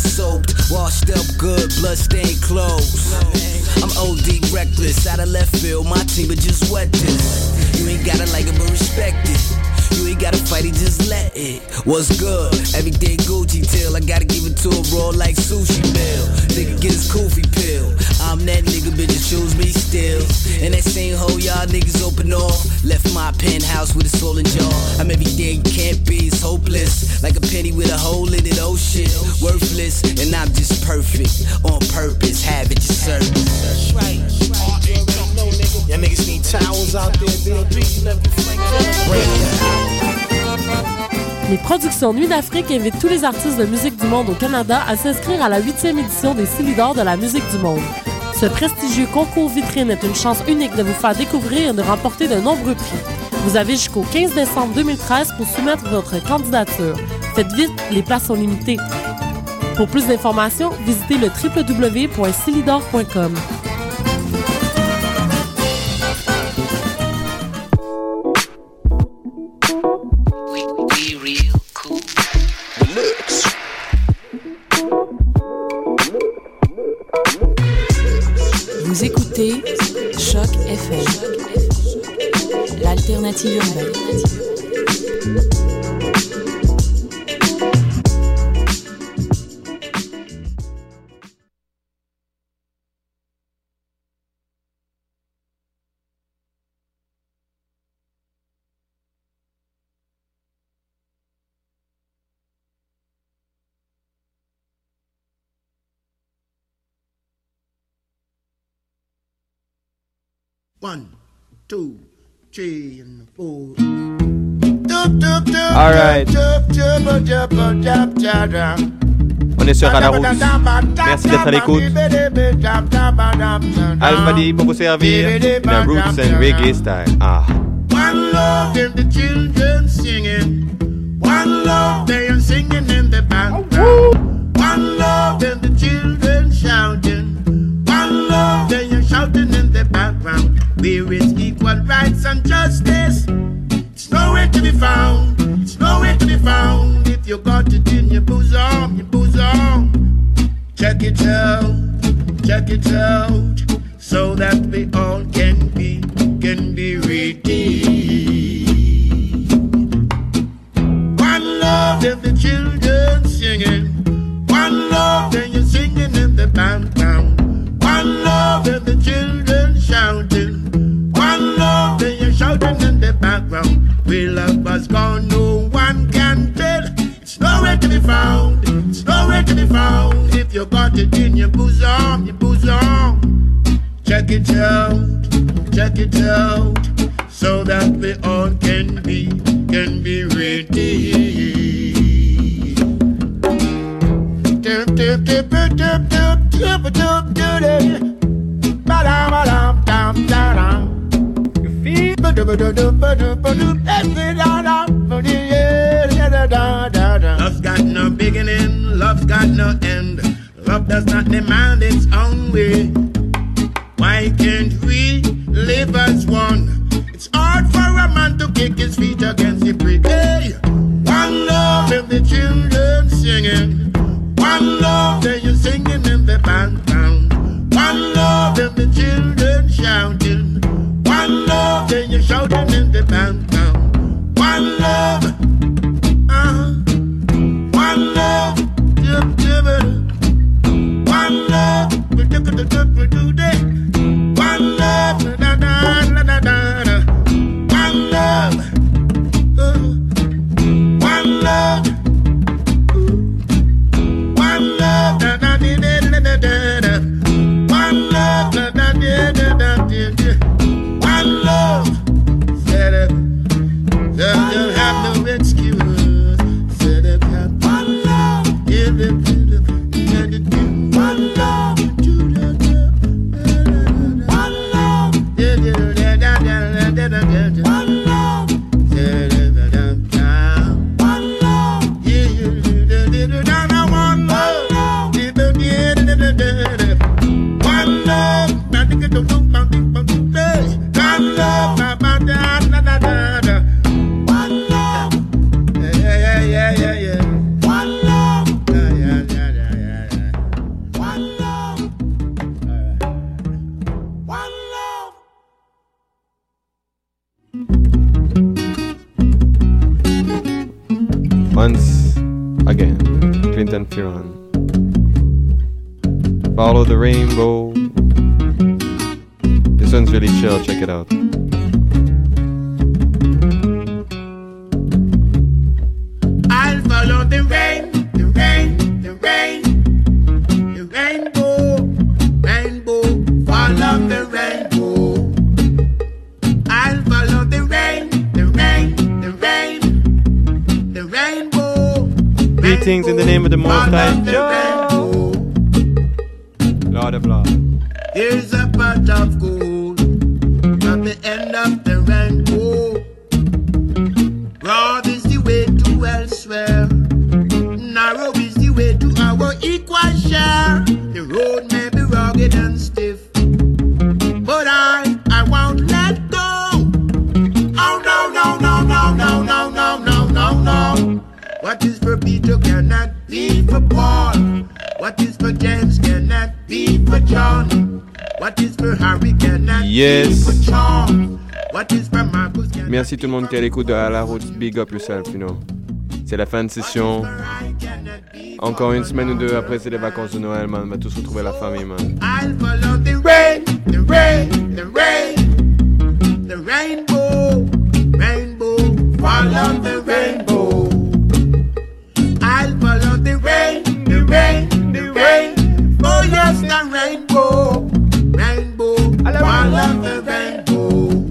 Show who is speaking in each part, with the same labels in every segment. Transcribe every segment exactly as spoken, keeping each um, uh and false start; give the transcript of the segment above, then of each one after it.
Speaker 1: soaped, washed up good, bloodstained clothes. I'm O D reckless, out of left field, my team would just wet this. You ain't gotta like it but respect it. You ain't gotta fight it, just let it. What's good? Everyday Gucci till I gotta give it to a raw like sushi meal. Nigga get his koofy pill. I'm that nigga, bitches choose me still. And that same hoe y'all niggas open off. Left my penthouse with a soul and jaw. I'm everything you can't be, it's hopeless. Like a penny with a hole in it, oh shit. Worthless, and I'm just perfect. On purpose, have it your service.
Speaker 2: That's right, that's right. You already know, nigga. Y'all niggas need towels out there, B O D.
Speaker 3: Les productions Nuit d'Afrique invitent tous les artistes de musique du monde au Canada à s'inscrire à la huitième édition des Silidor de la musique du monde. Ce prestigieux concours vitrine est une chance unique de vous faire découvrir et de remporter de nombreux prix. Vous avez jusqu'au quinze décembre deux mille treize pour soumettre votre candidature. Faites vite, les places sont limitées. Pour plus d'informations, visitez le w w w point silidor point com.
Speaker 4: Vous écoutez Choc F M, l'alternative urbaine.
Speaker 5: One, two, three, and four.
Speaker 6: All right. On est sur Radarousse. Merci d'être à l'écoute. Alpha D pour vous servir. In a roots and reggae style. Ah.
Speaker 5: One love and the children singing. One love they are singing in the background. One love and the children shouting. One love they are shouting in the background. Where is equal rights and justice? It's nowhere to be found. It's nowhere to be found. If you got it in your bosom, your bosom. Check it out, check it out, so that we all can be, can be redeemed. One love and the children singing. One love and you're singing in the background. One love and the children shouting. One love and you're shouting in the background. We love us gone, no one can tell. It's nowhere to be found. It's nowhere to be found. If you got it in your bosom, your bosom. Check it out, check it out, so that we all can be, can be redeemed. Dip, dip, dip, dip, dip, dip, dip, dip, dip, ba-dum, ba-dum, dum, Love's got no beginning, love's got no end. Love does not demand its own way. Why can't we live as one? It's hard for a man to kick his feet against the brick. Hey, one love and the children singing. One love and you're singing in the background. One love and the children shouting. One love and you're shouting in the background. One love, uh-huh. One love, dip, dip, one love, we dip, dip, dip, we do that. One love, da da da da da da. One love, uh, one love.
Speaker 6: again. Clinton Fearon. Follow the rainbow. This one's really chill, check it out.
Speaker 5: I'll follow the rain, the rain, the rain, the rainbow, rainbow, follow the rainbow. I'll follow the rain, the rain, the rain, the rainbow.
Speaker 6: Greetings in the name of the Most High Jah, Lord of Lords.
Speaker 5: Here's a pot of gold at the end of the rainbow. Broad is the way to elsewhere. Narrow is the way to our equal share. The road may be rugged and stiff, but I, I won't let go. Oh no, no, no, no, no, no, no, no, no, no. What is for Peter cannot be for Paul. What is for James cannot be for John. What is for Harry cannot
Speaker 6: Yes.
Speaker 5: be for John. What is for Marcus cannot
Speaker 6: Merci tout le monde qui est à l'écoute de À la route. Big up yourself, you know. C'est la fin de session. Encore une semaine ou deux après, c'est les vacances de Noël, man. On va tous retrouver la famille, man.
Speaker 5: I'll follow the rain, the rain, the rain, the rainbow, rainbow, follow the rainbow. I'll follow the rain, the rain, the rain, oh yes, the rainbow, rainbow, follow the rainbow.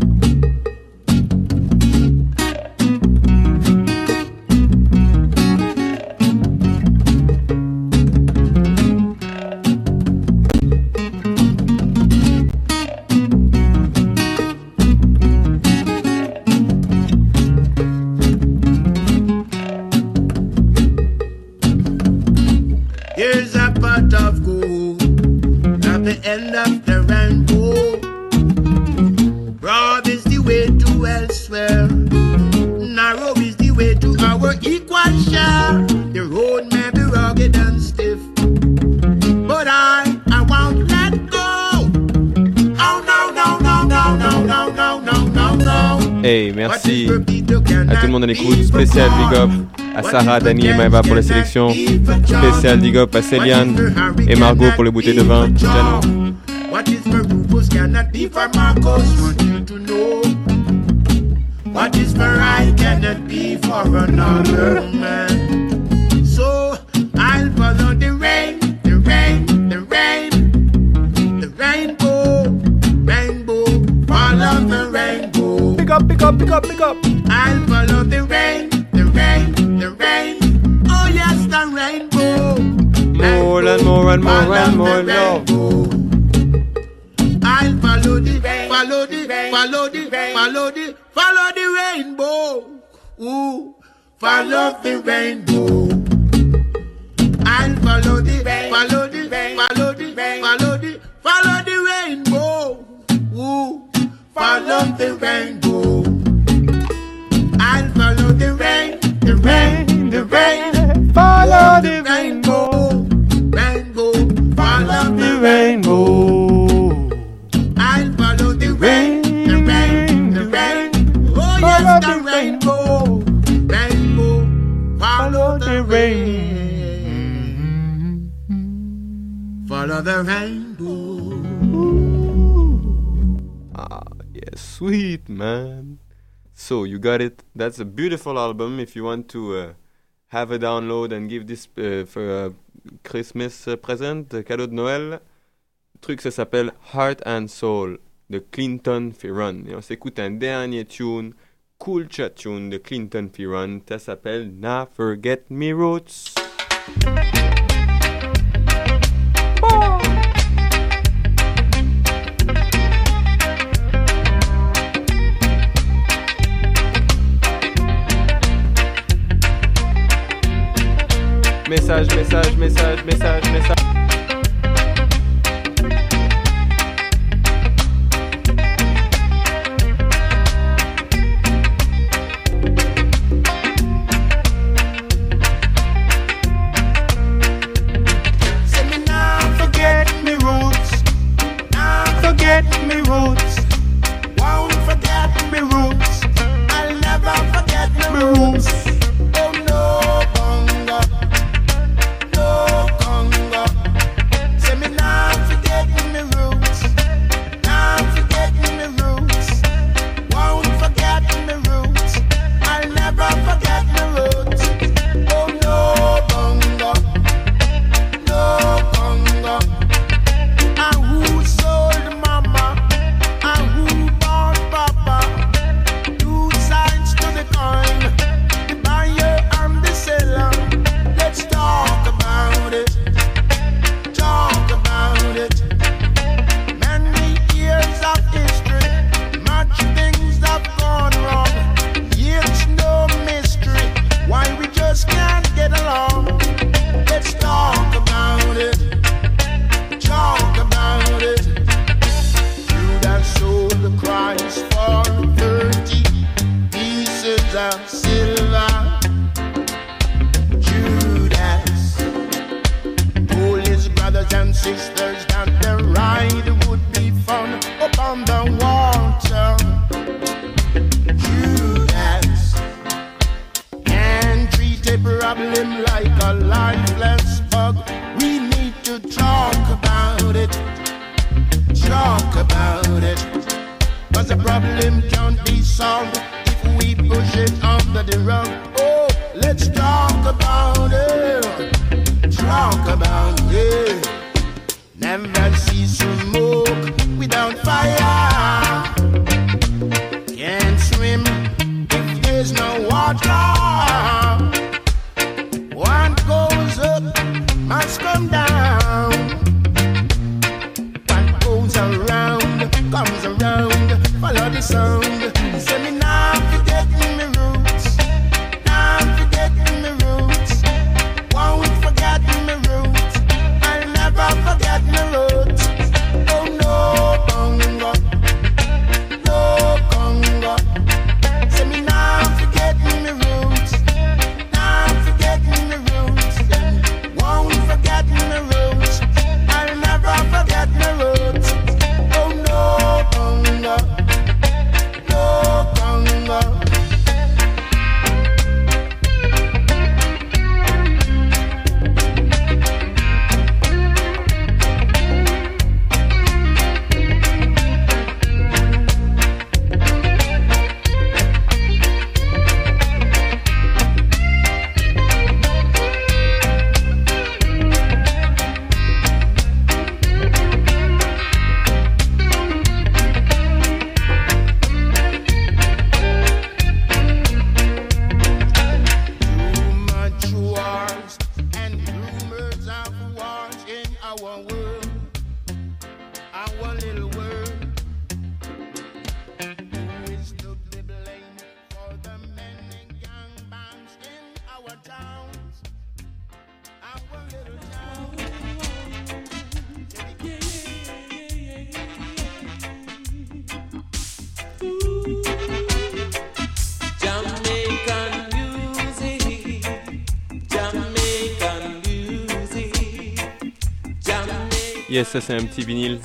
Speaker 5: Here's a pot of gold at the end of the rainbow. Broad is the way to elsewhere. Narrow is the way to our equal share. The road may be rugged and stiff, but I, I won't let go. Oh no, no, no, no, no, no, no, no, no, no.
Speaker 6: Hey, merci à tout le monde à l'écoute. Spécial big up à Sarah, Dani et Maëva pour la sélection. Spécial big up à Céliane et Margot pour les bouteilles de vin. Jano.
Speaker 5: What is for Rufus cannot be for Marcos. Want you to know. What is for I cannot be for another man. So I'll follow the rain, the rain, the rain, the rainbow, rainbow, follow the rainbow.
Speaker 6: Pick up, pick up, pick up, pick up.
Speaker 5: I'll follow the rain, the rain, the rain. Oh yes, the rainbow.
Speaker 6: More and more and more and more love.
Speaker 5: I'll follow the, follow the, follow the, follow the, follow the rainbow. Ooh, follow the rainbow. I'll follow the, follow the, follow the, follow the, follow the rainbow. Ooh, follow the rainbow. I'll follow the rain, the rain, the rain.
Speaker 6: Follow
Speaker 5: the rainbow, rainbow, follow the
Speaker 6: rainbow.
Speaker 5: I'll follow the rain, the rain, the rain. Oh yes, the rainbow, rainbow, follow the rain. Follow the rainbow.
Speaker 6: Ah, yeah, sweet, man. So, you got it. That's a beautiful album. If you want to uh, have a download and give this uh, for a Christmas uh, present, uh, cadeau de Noël, le truc, ça s'appelle Heart and Soul de Clinton Fearon. Et on s'écoute un dernier tune, cool chat tune de Clinton Fearon. Ça s'appelle Nah Forget Me Roots. Message, message, message, message, message.
Speaker 5: Say me now forget me roots, now forget me roots, won't forget me roots, I'll never forget me roots. Oh no, bonga. sisters that the ride would be fun upon the water. Judas can't treat a problem like a lifeless bug. We need to talk about it, talk about it. Cause the problem can't be solved if we push it under the rug. Oh, let's talk about it, talk about it. Never see smoke without fire. Can't swim if there's no water. What goes up must come down. What goes around comes around. Follow the sound. Say me now forget me roots. Now forget me roots. Won't forget me roots. I'll never forget me roots. Oh no, Congo. No, Congo. Say me now forget me roots. Now forget me roots. Won't forget me roots. I'll never forget me roots. Oh no, Congo. No, Congo. Too much wars and rumors of wars in our world, our little world. Who is to be blamed for the many gangbangs in our towns, our little towns?
Speaker 7: Jamaican music, Jamaican music, Jamaican,
Speaker 6: Yes, ça c'est un petit vinyle.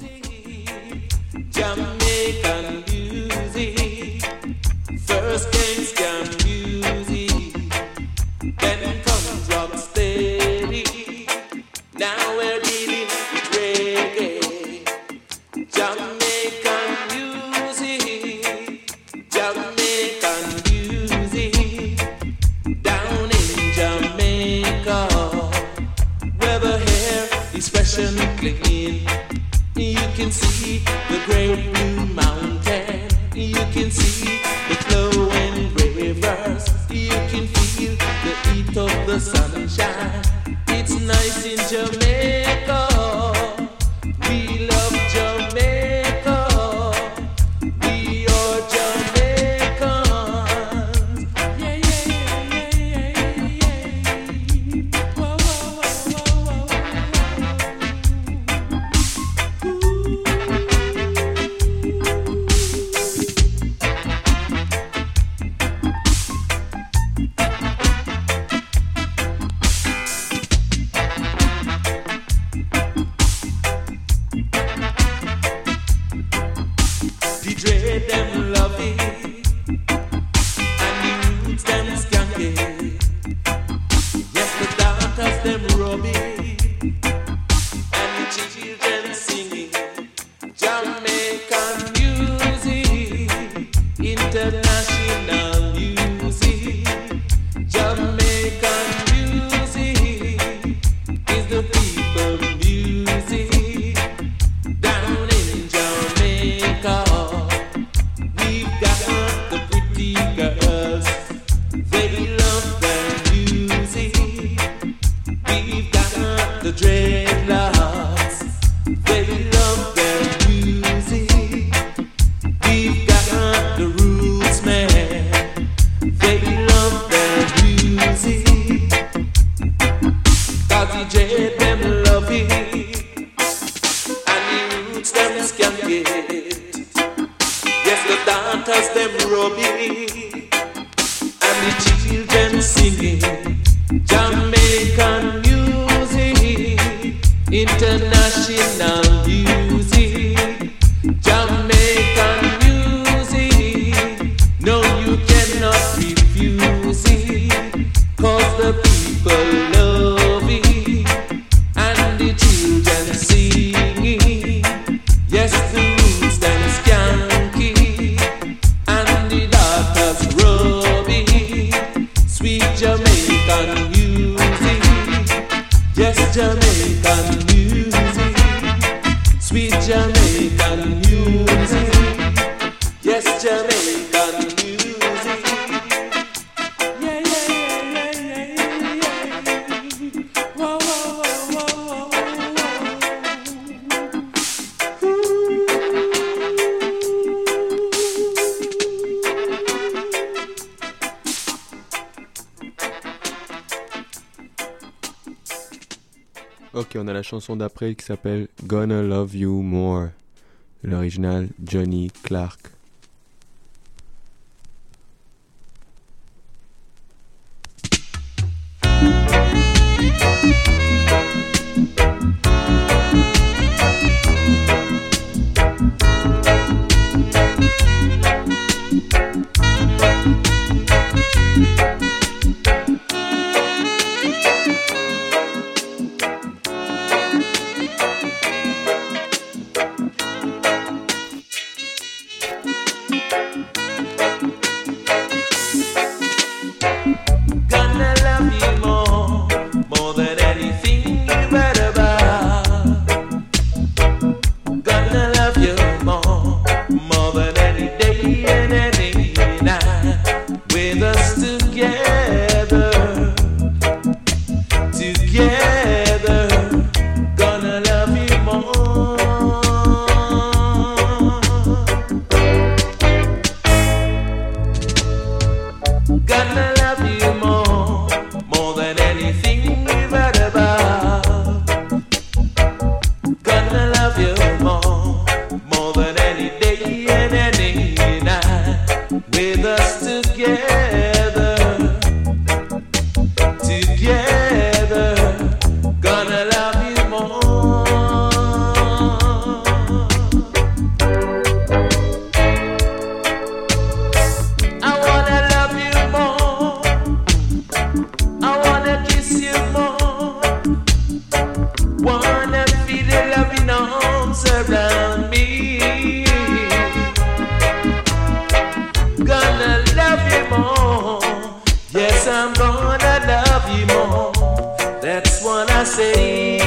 Speaker 7: Jamaican music. First came scam music, then comes rock steady. Now we're dealing with reggae. Jamaican music, Jamaican music. Down in Jamaica, where the hair is fresh and clean, you can see the great blue mountain. You can see the flowing rivers. You can feel the heat of the sunshine. It's nice in Jamaica. We love Jamaica. We are Jamaicans. Yeah, yeah, yeah, yeah, yeah, yeah. Whoa, whoa, whoa, whoa, The dread them love it, and the youths them skank it. Yes, the daughters them rub it, and the children sing it. Jamaican music, international music. Jamaican music is the people music. Down in Jamaica, we've got the pretty girls. They love their music. We've got the dreadlocks. They love their music. We've got the roots man. They love their music. Cause the dread them love it, and the roots them skank it. Yes, the daughters them rub it, and the children sing it. Jamaican music,
Speaker 8: International music, Jamaican music. No, you cannot refuse it, 'cause the people love it, and the children sing it. Yes, the roots them skanky, and the daughters rub it. Sweet Jamaican music, yes, Jamaican music. Sweet Jamaican music, yes, Jamaican music.
Speaker 7: Yeah, yeah, yeah, yeah, yeah, yeah. Whoa, whoa, whoa, whoa, whoa,
Speaker 6: Ok, on a la chanson d'après qui s'appelle Gonna Love You More. L'original Johnny Clark.
Speaker 8: Gonna love you more, more than anything you've ever about. Gonna love you more, more than any day and any night. With us together, together. Gonna love you more. Gonna love you more, more than anything you've heard about. Gonna love you more, more than any day and any night. With us together, together. Gonna love you more. I wanna love you more. I wanna kiss you more. Wanna feel your loving arms around me. Gonna love you more. Yes, I'm gonna love you more. That's what I say.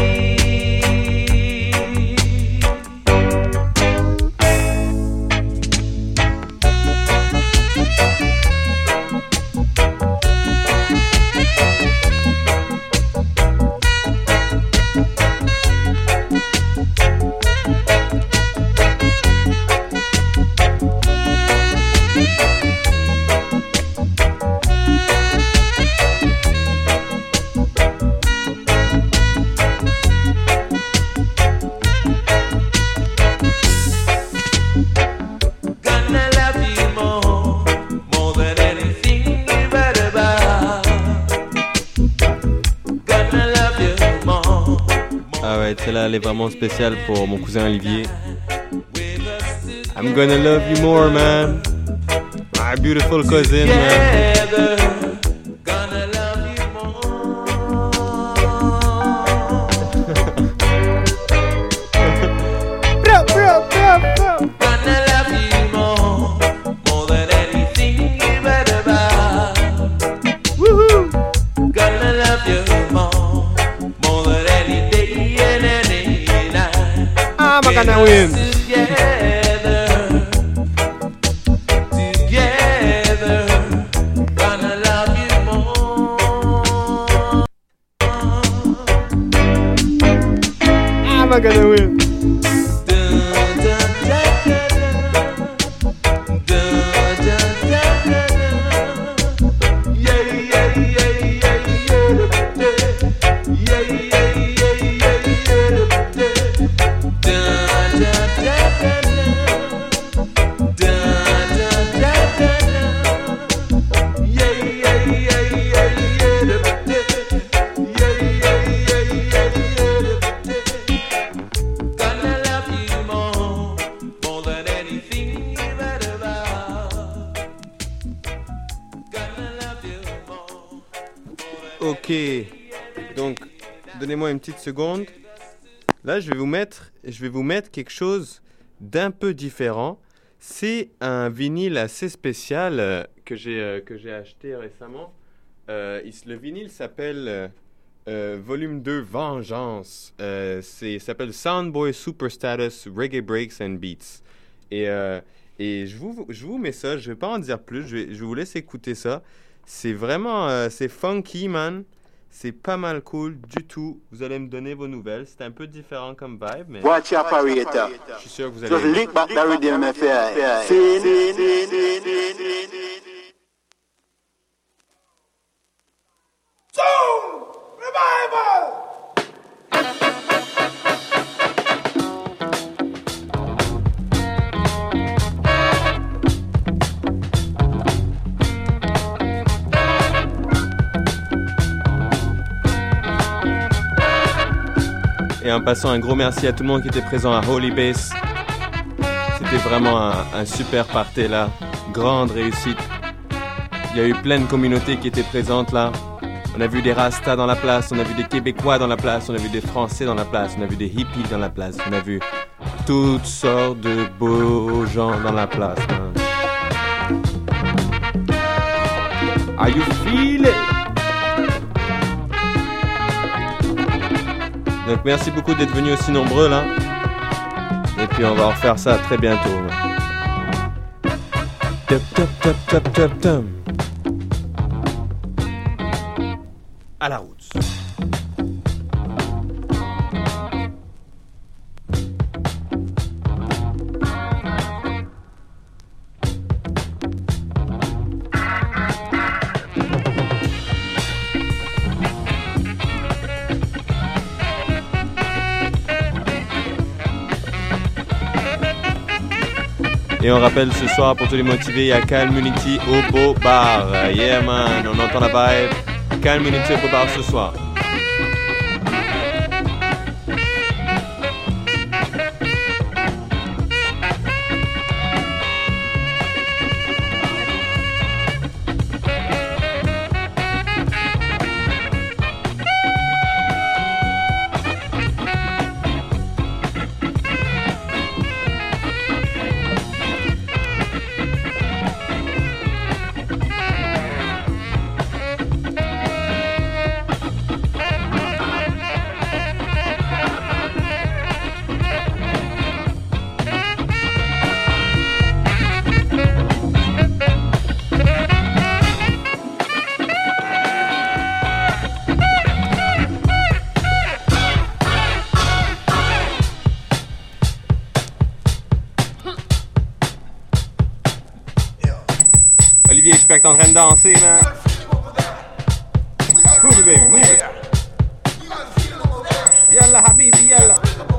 Speaker 8: Gonna love you more, more than anything you've heard about. Gonna love you more,
Speaker 6: Ah ouais, celle-là elle est vraiment spéciale pour mon cousin Olivier. I'm gonna love you more, man. My beautiful cousin, man.
Speaker 8: together. Gonna love you more. Gonna love you more, more than anything you've heard about. Woohoo! Gonna love you more, more than any day and any night.
Speaker 6: I'm gonna win.
Speaker 8: Together, together, gonna love you more.
Speaker 6: I'm gonna win.
Speaker 8: Dun, dun, dun, dun, dun, dun, dun, dun. Yeah, yeah, yeah, yeah, yeah, yeah, yeah, yeah, yeah, yeah. Dun, dun, dun, dun, dun, dun, dun, dun. Yeah, yeah, yeah, yeah, yeah, yeah, yeah, yeah, yeah, yeah.
Speaker 6: Concédez-moi une petite seconde. Là, je vais vous mettre, je vais vous mettre quelque chose d'un peu différent. C'est un vinyle assez spécial euh, que j'ai euh, que j'ai acheté récemment. Euh, il, le vinyle s'appelle euh, euh, Volume deux Vengeance. Euh, c'est, ça s'appelle Soundboy Super Status Reggae Breaks and Beats. Et, euh, et je, vous, je vous mets ça, je ne vais pas en dire plus, je, vais, je vous laisse écouter ça. C'est vraiment, euh, c'est funky, man. C'est pas mal cool du tout. Vous allez me donner vos nouvelles. C'est un peu différent comme vibe, mais
Speaker 9: Watch your operator.
Speaker 6: je suis sûr que vous
Speaker 9: Just
Speaker 6: allez...
Speaker 9: lick back the rhythm if you feel.
Speaker 2: Soul Revival!
Speaker 6: Et en passant, un gros merci à tout le monde qui était présent à Holy Base. C'était vraiment un, un super party là. Grande réussite. Il y a eu plein de communautés qui étaient présentes là. On a vu des Rastas dans la place, on a vu des Québécois dans la place, on a vu des Français dans la place, on a vu des hippies dans la place, on a vu toutes sortes de beaux gens dans la place. Hein. Are you feel it? Donc merci beaucoup d'être venus aussi nombreux là. Et puis on va refaire ça très bientôt. Top, top, top, top, top, top. À la route. Et on rappelle ce soir pour tous les motivés, il y a Calm Unity au Beau Bar. Yeah man, on entend la vibe. Calm Unity au Beau Bar ce soir. Olivier, j'espère que t'es en train de danser, man. Move it, baby, move it. Yalla, habibi, yalla.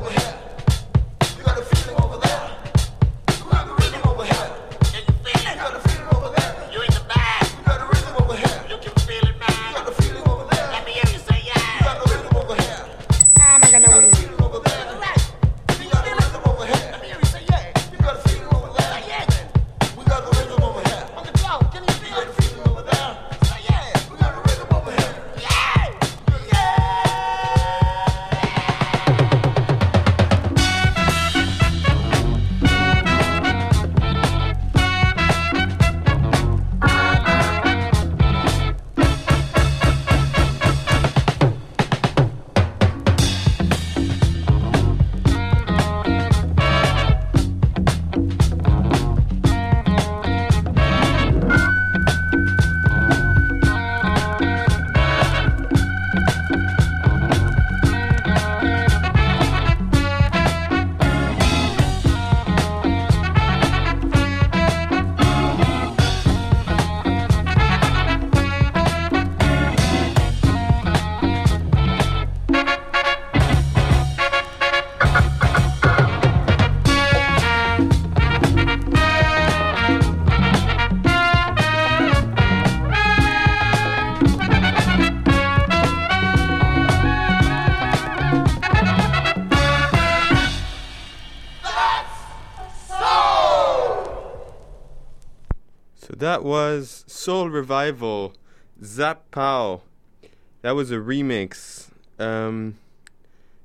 Speaker 6: That was Soul Revival, Zap Pow. That was a remix. Um,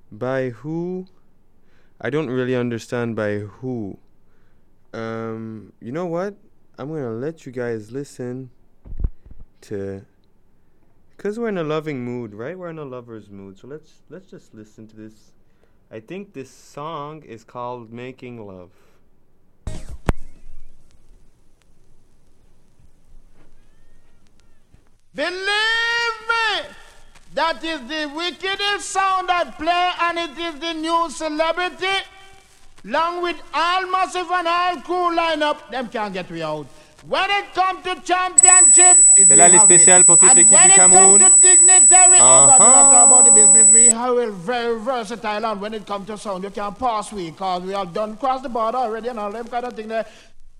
Speaker 6: By who? I don't really understand by who. Um, you know what? I'm gonna let you guys listen to, because we're in a loving mood, right? We're in a lover's mood. So let's let's just listen to this. I think this song is called Making Love.
Speaker 2: Believe me, that is the wickedest sound that play, and it is the new celebrity. Along with all massive and all cool lineup, them can't get we out. When it comes to championship,
Speaker 6: C'est là les spéciales pour toute l'équipe du Cameroun.
Speaker 2: And when it comes to dignitary, uh-huh. oh God, we don't talk about the business. We are very versatile, and when it comes to sound, you can't pass we, because we have done cross the border already and all them kind of thing there.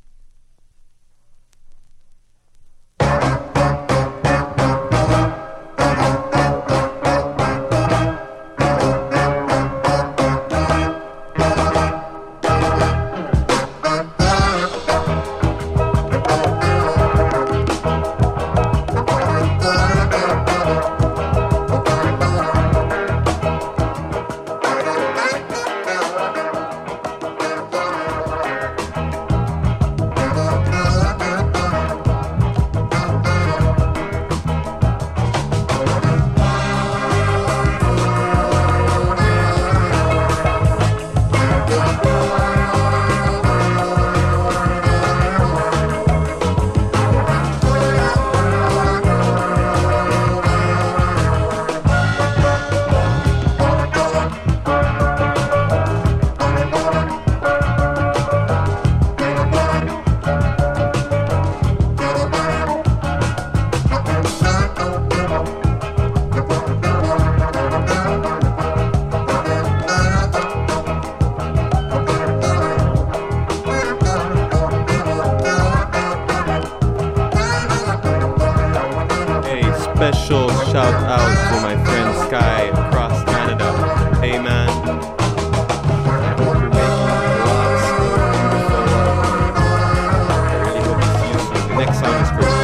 Speaker 6: Special shout out to my friend Sky across Canada. Hey man, I hope you're making lots of beautiful love. I really hope to see you soon. The next song is for you.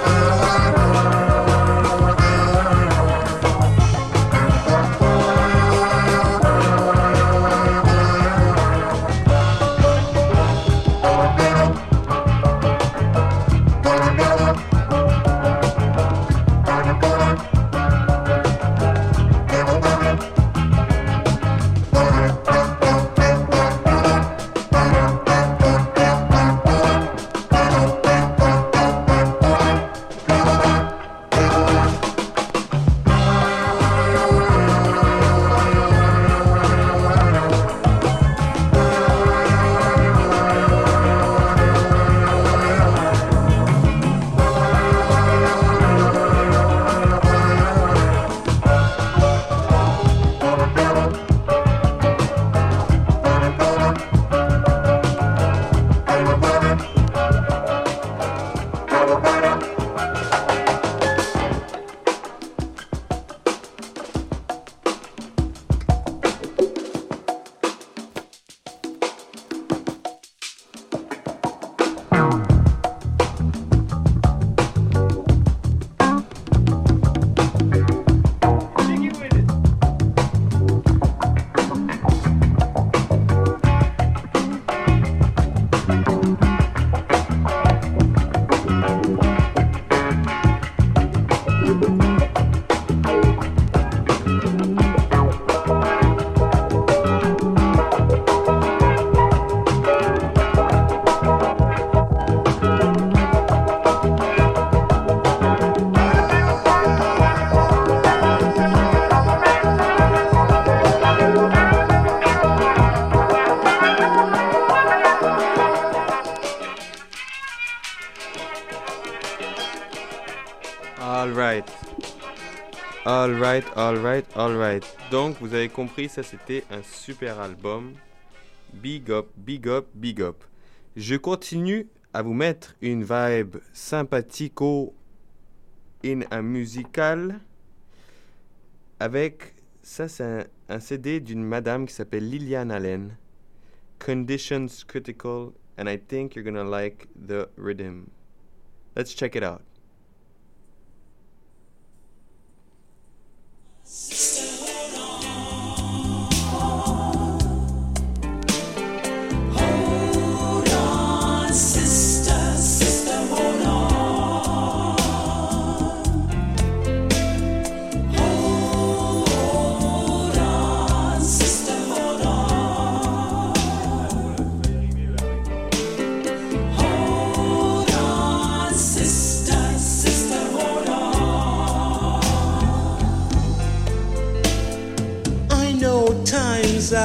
Speaker 6: Alright. Alright, alright, alright. Donc, vous avez compris, ça c'était un super album. Big up, big up, big up. Je continue à vous mettre une vibe sympathico in un musical avec, ça c'est un, un C D d'une madame qui s'appelle Lillian Allen. Conditions Critical, and I think you're gonna like the rhythm. Let's check it out.
Speaker 7: Sister, hold on.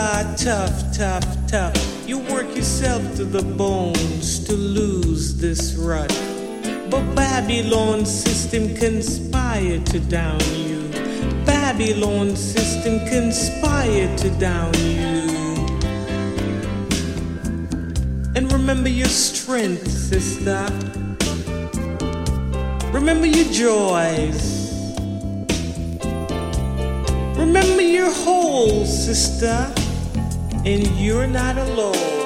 Speaker 8: are tough, tough, tough. You work yourself to the bones to lose this rut. But Babylon system conspire to down you. Babylon system conspire to down you. And remember your strength, sister. Remember your joys. Remember your whole, sister. And you're not alone.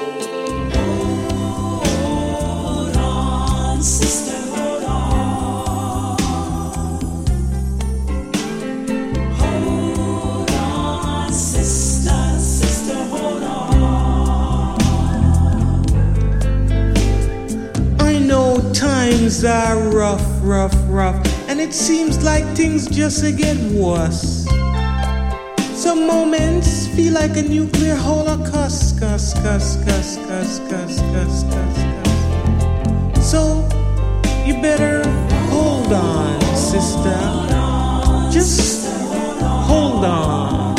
Speaker 7: Hold on, sister, hold on. Hold on, sister, sister, hold on.
Speaker 8: I know times are rough, rough, rough, and it seems like things just get worse. Some moments feel like a nuclear holocaust, cuss, cuss, cuss, cuss, cuss, cuss, cuss, cuss. So you better hold on, sister. Just hold on.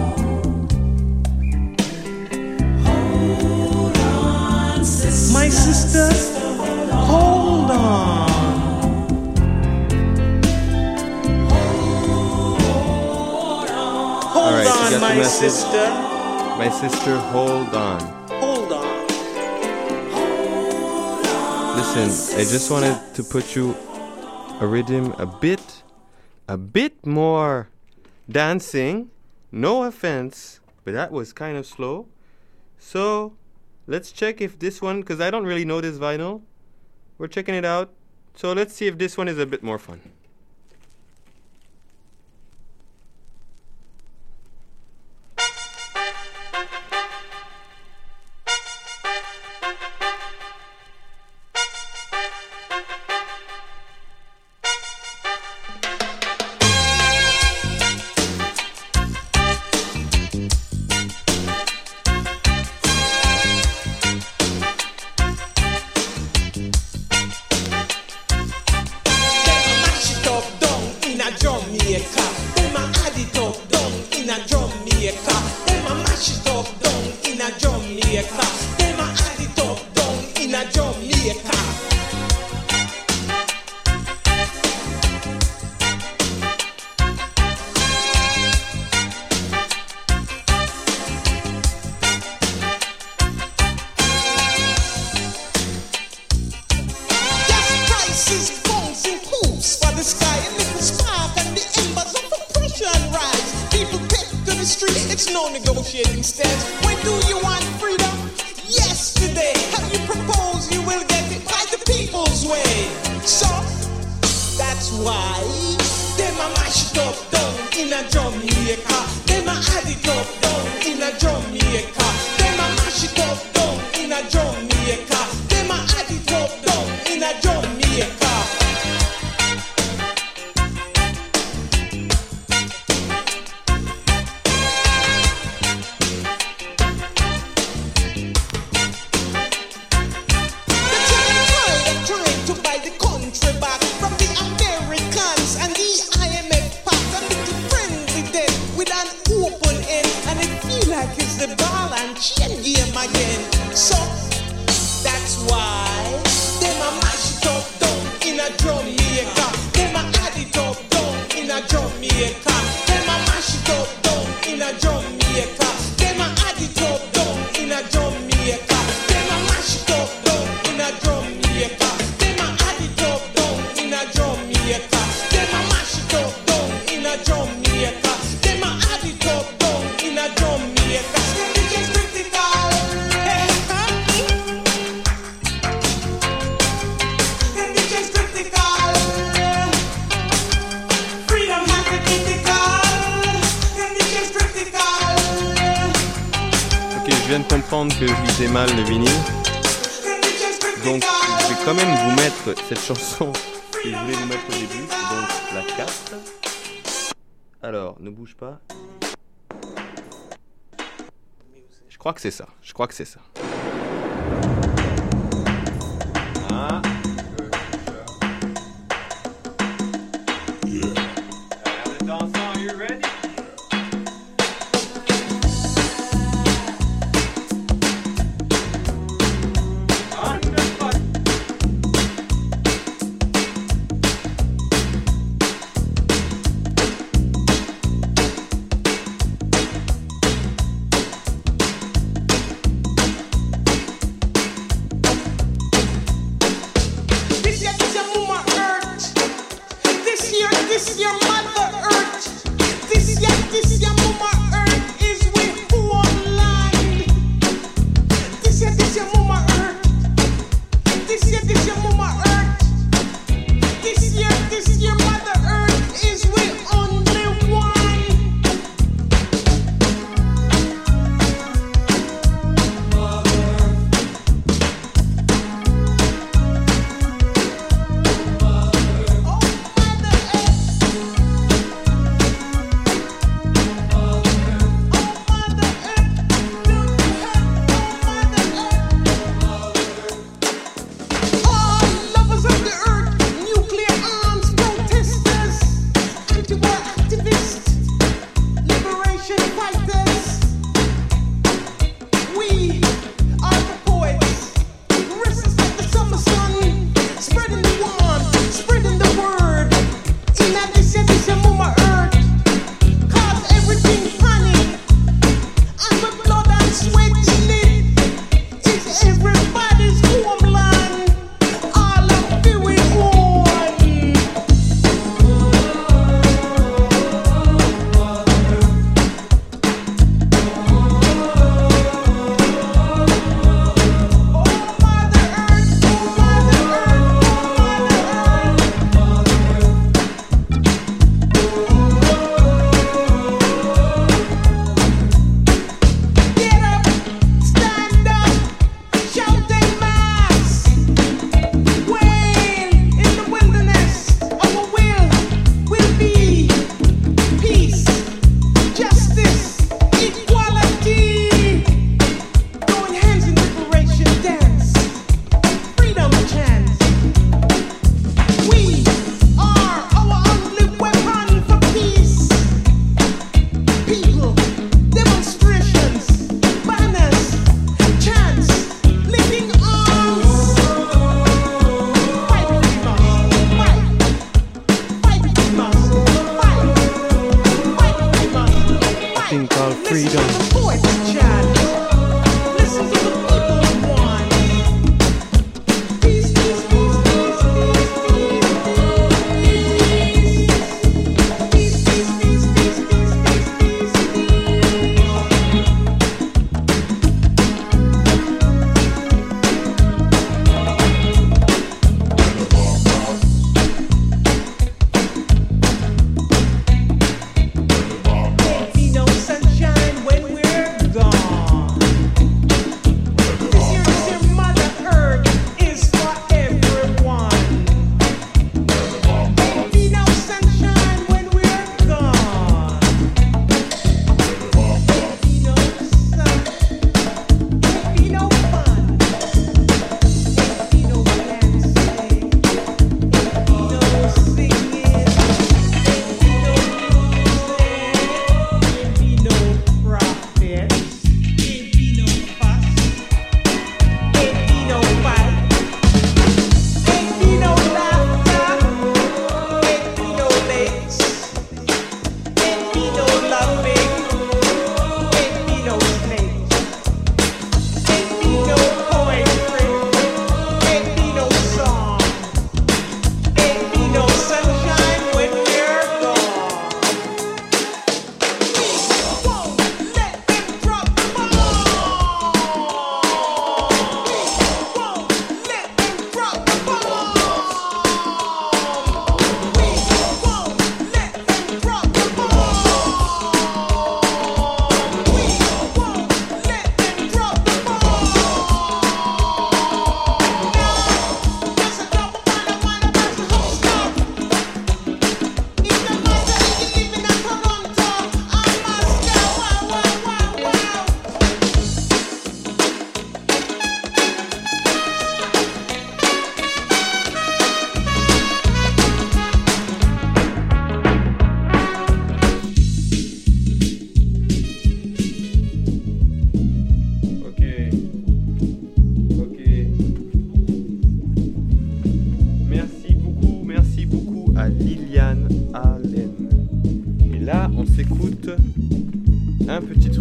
Speaker 8: My sister, hold on.
Speaker 6: All
Speaker 8: Hold
Speaker 6: right, you
Speaker 8: on,
Speaker 6: got the
Speaker 8: my
Speaker 6: message?
Speaker 8: sister.
Speaker 6: My sister, hold on.
Speaker 8: Hold on.
Speaker 6: Listen, I just wanted to put you a rhythm a bit, a bit more dancing. No offense, but that was kind of slow. So let's check if this one, because I don't really know this vinyl. We're checking it out. So let's see if this one is a bit more fun. Que je lisais mal le vinyle, donc je vais quand même vous mettre cette chanson que je voulais vous mettre au début, donc la quatre. Alors ne bouge pas, je crois que c'est ça, je crois que c'est ça. Ah.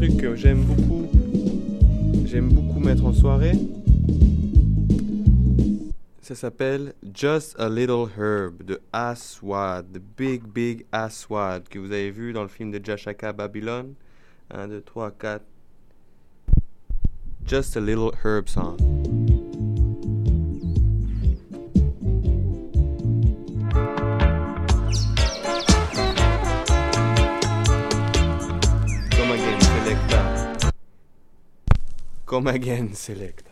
Speaker 6: truc que j'aime beaucoup, j'aime beaucoup mettre en soirée. Ça s'appelle Just a Little Herb de Aswad, The Big Big Aswad, que vous avez vu dans le film de Jashaka Babylon. un, deux, trois, quatre. Just a Little Herb song. Come again, selecta. Come again, selecta.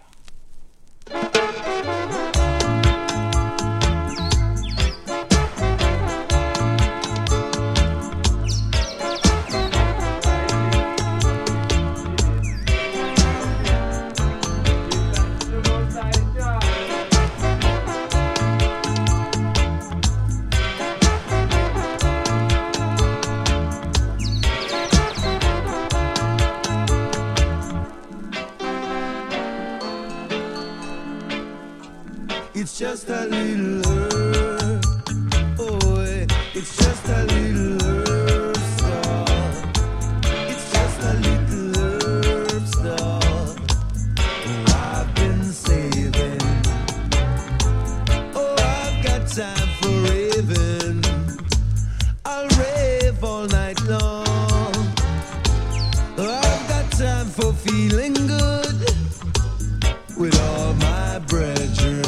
Speaker 10: It's just a little herb, oh, eh, it's just a little herb star. It's just a little herb star. Oh, I've been saving. Oh, I've got time for raving. I'll rave all night long. Oh, I've got time for feeling good with all my brethren.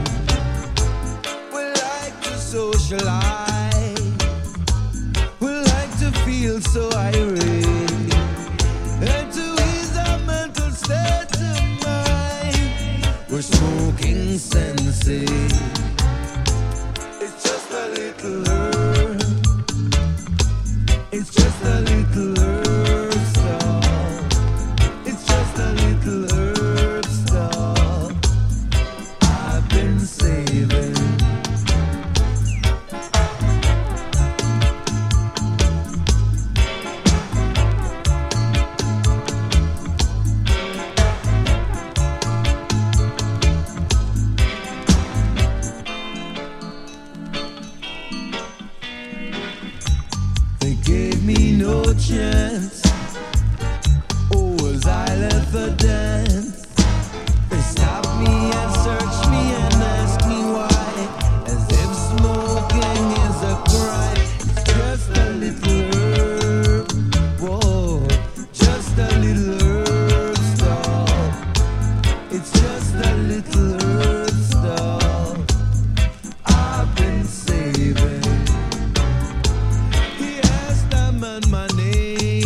Speaker 10: Socialize. We like to feel so irate and to ease our mental state of mind. We're smoking sensei. It's just a little herb. It's just a little herb star. It's just a little herb star. I've been saving. Chance. Oh, as I left the dance, they stopped me and searched me and asked me why, as if smoking is a crime. It's just a little herb, whoa, just a little herb star. It's just a little herb star. I've been saving. He asked the man my name.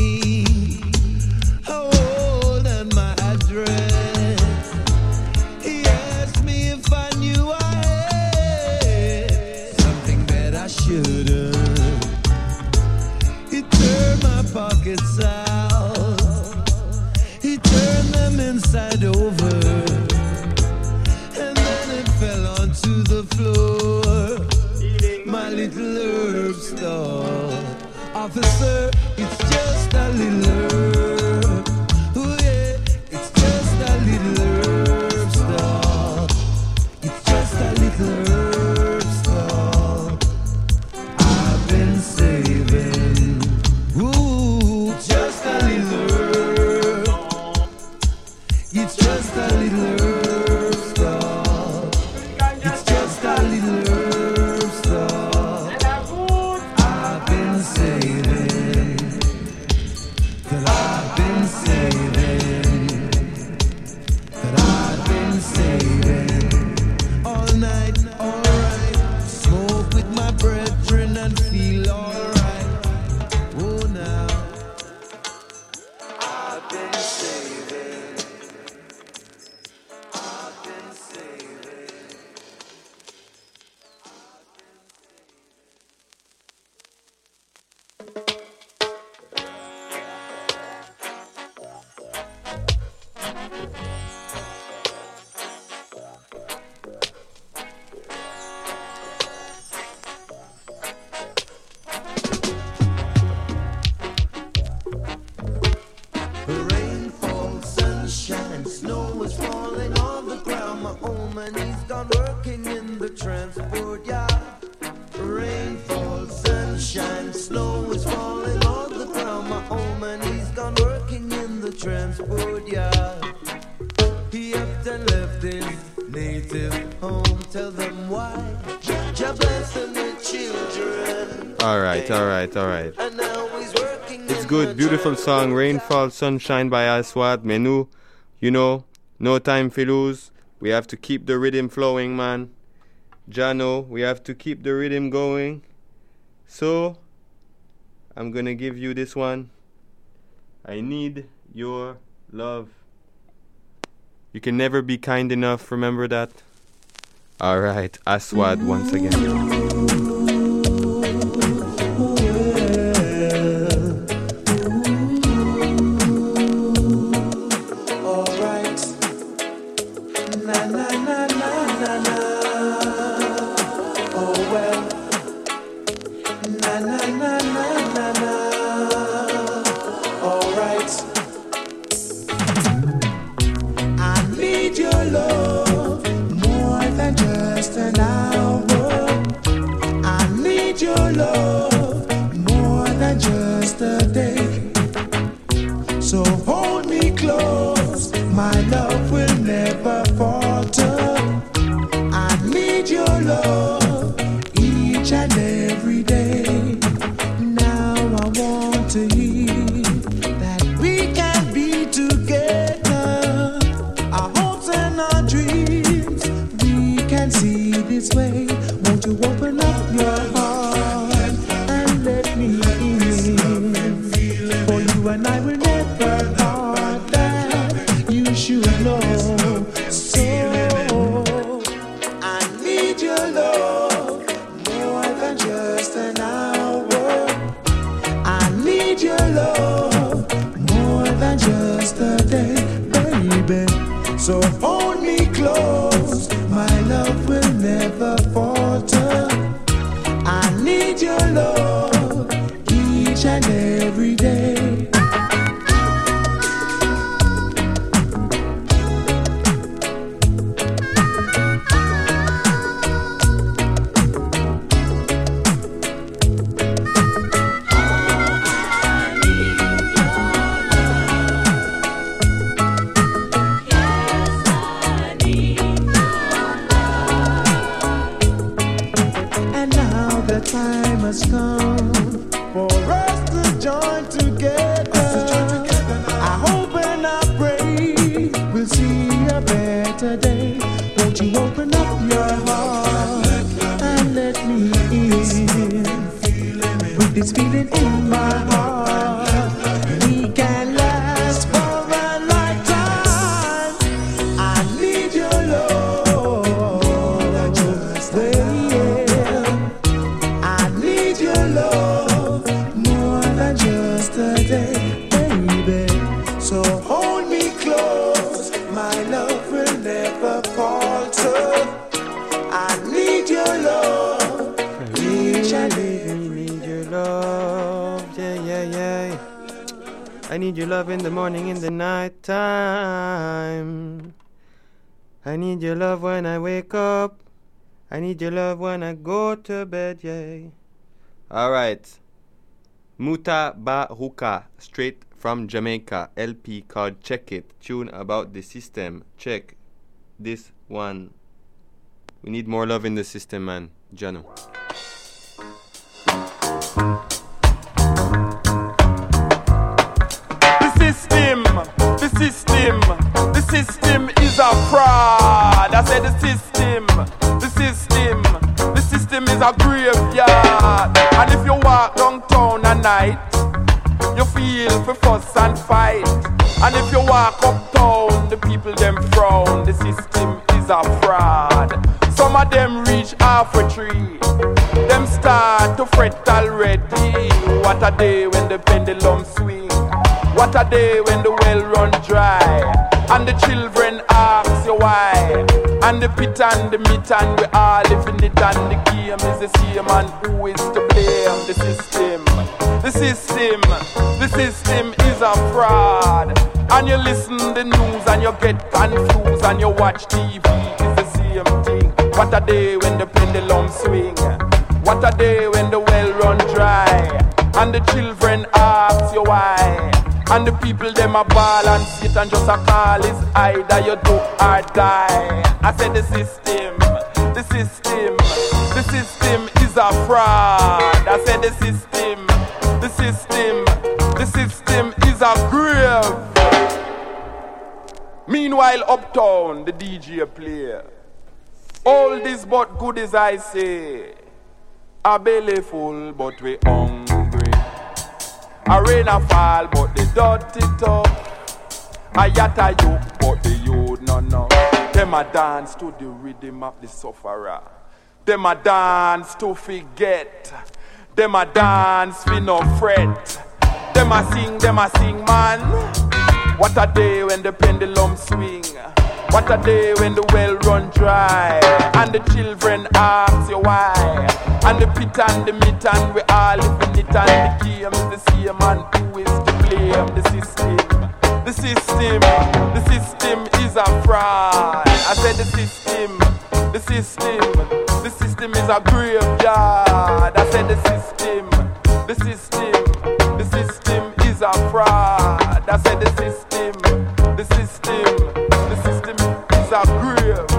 Speaker 10: Pockets out, he turned them inside over, and then it fell onto the floor. My little herb star, officer, it's just a little herb. Oh yeah, it's just a little herb star. It's just a little herb star. I've been saving. Ooh, just a little herb. It's just a little herb star. It's just a little herb star. I've been saving. That I've been saving. That I've been saving. All night, alright. Smoke with my brethren and feel alright. Oh, now I've been saving. I've been saving. Rain falls, sunshine, snow is falling on the ground. My old man, he's gone working in the transport yard. Rain falls, sunshine, snow is falling on the ground. My old man, he's gone working in transport yard. He up and left his native home. Tell them why. Jah bless them with children.
Speaker 6: All right, all right, all right.
Speaker 10: And now he's working.
Speaker 6: It's good, beautiful song, Rainfall, Sunshine by Aswad. Mais nous, you know, no time for lose. We have to keep the rhythm flowing, man. Jano, we have to keep the rhythm going. So, I'm gonna give you this one. I need your love. You can never be kind enough, remember that? Alright, Aswad once again.
Speaker 10: So hold me close, my love will never falter. I need your love each and every day. Now I want to hear that we can be together. Our hopes and our dreams, we can see this way. Won't you open up your heart and let me in? For you and I will never part, that you should know. So I need your love more than just an hour. I need your love more than just a day, baby. So hold me close, my love will never falter. I need your love each and every day. And now the time has come for us to join together. I hope and I pray we'll see a better day. Won't you open up your heart and let me in? With this feeling in my heart, we can last for a lifetime. I need your love, yeah. I need your love more than just a day, baby. So hold me close, my love will never falter. I need your love each and every
Speaker 6: Need your love, yeah, yeah, yeah. I need your love in the morning, in the night time. I need your love when I wake up. I need your love when I go to bed, yeah. All right. Muta Baruka, straight from Jamaica. L P called Check It. Tune about the system. Check this one. We need more love in the system, man. Jano.
Speaker 11: The system, the system, the system is a fraud. I said the system, the system, the system is a graveyard. And if you walk downtown at night, you feel for fuss and fight. And if you walk uptown, the people them frown. The system is a fraud. Some of them reach half a tree. Them start to fret already. What a day when the pendulum swing. What a day when the well run dry. And the children ask you why. And the pit and the meat and we all live in it. And the game is the same. And who is to blame? The system. The system. The system is a fraud. And you listen the news and you get confused. And you watch T V, it's the same thing. What a day when the pendulum swing. What a day when the well run dry. And the children ask you why. And the people them a ball and Satan just a call. Is either you do or die. I said the system, the system, the system is a fraud. I said the system, the system, the system is a grave. Meanwhile uptown the D J play. All this but good as I say. A belly full but we hungry. A rain a fall but the dirty top. A yatta yoke but the youth no no. Them a dance to the rhythm of the sufferer. Them a dance to forget. Them a dance for no fret. Them a sing, them a sing man. What a day when the pendulum swing. What a day when the well run dry. And the children ask you why. And the pit and the meat and we all live in it. And the game is the same and who is to blame? The system. The system. The system is a fraud. I said the system. The system. The system is a graveyard. I said the system. The system. The system is a fraud. I said the system. The system. The system is a grave.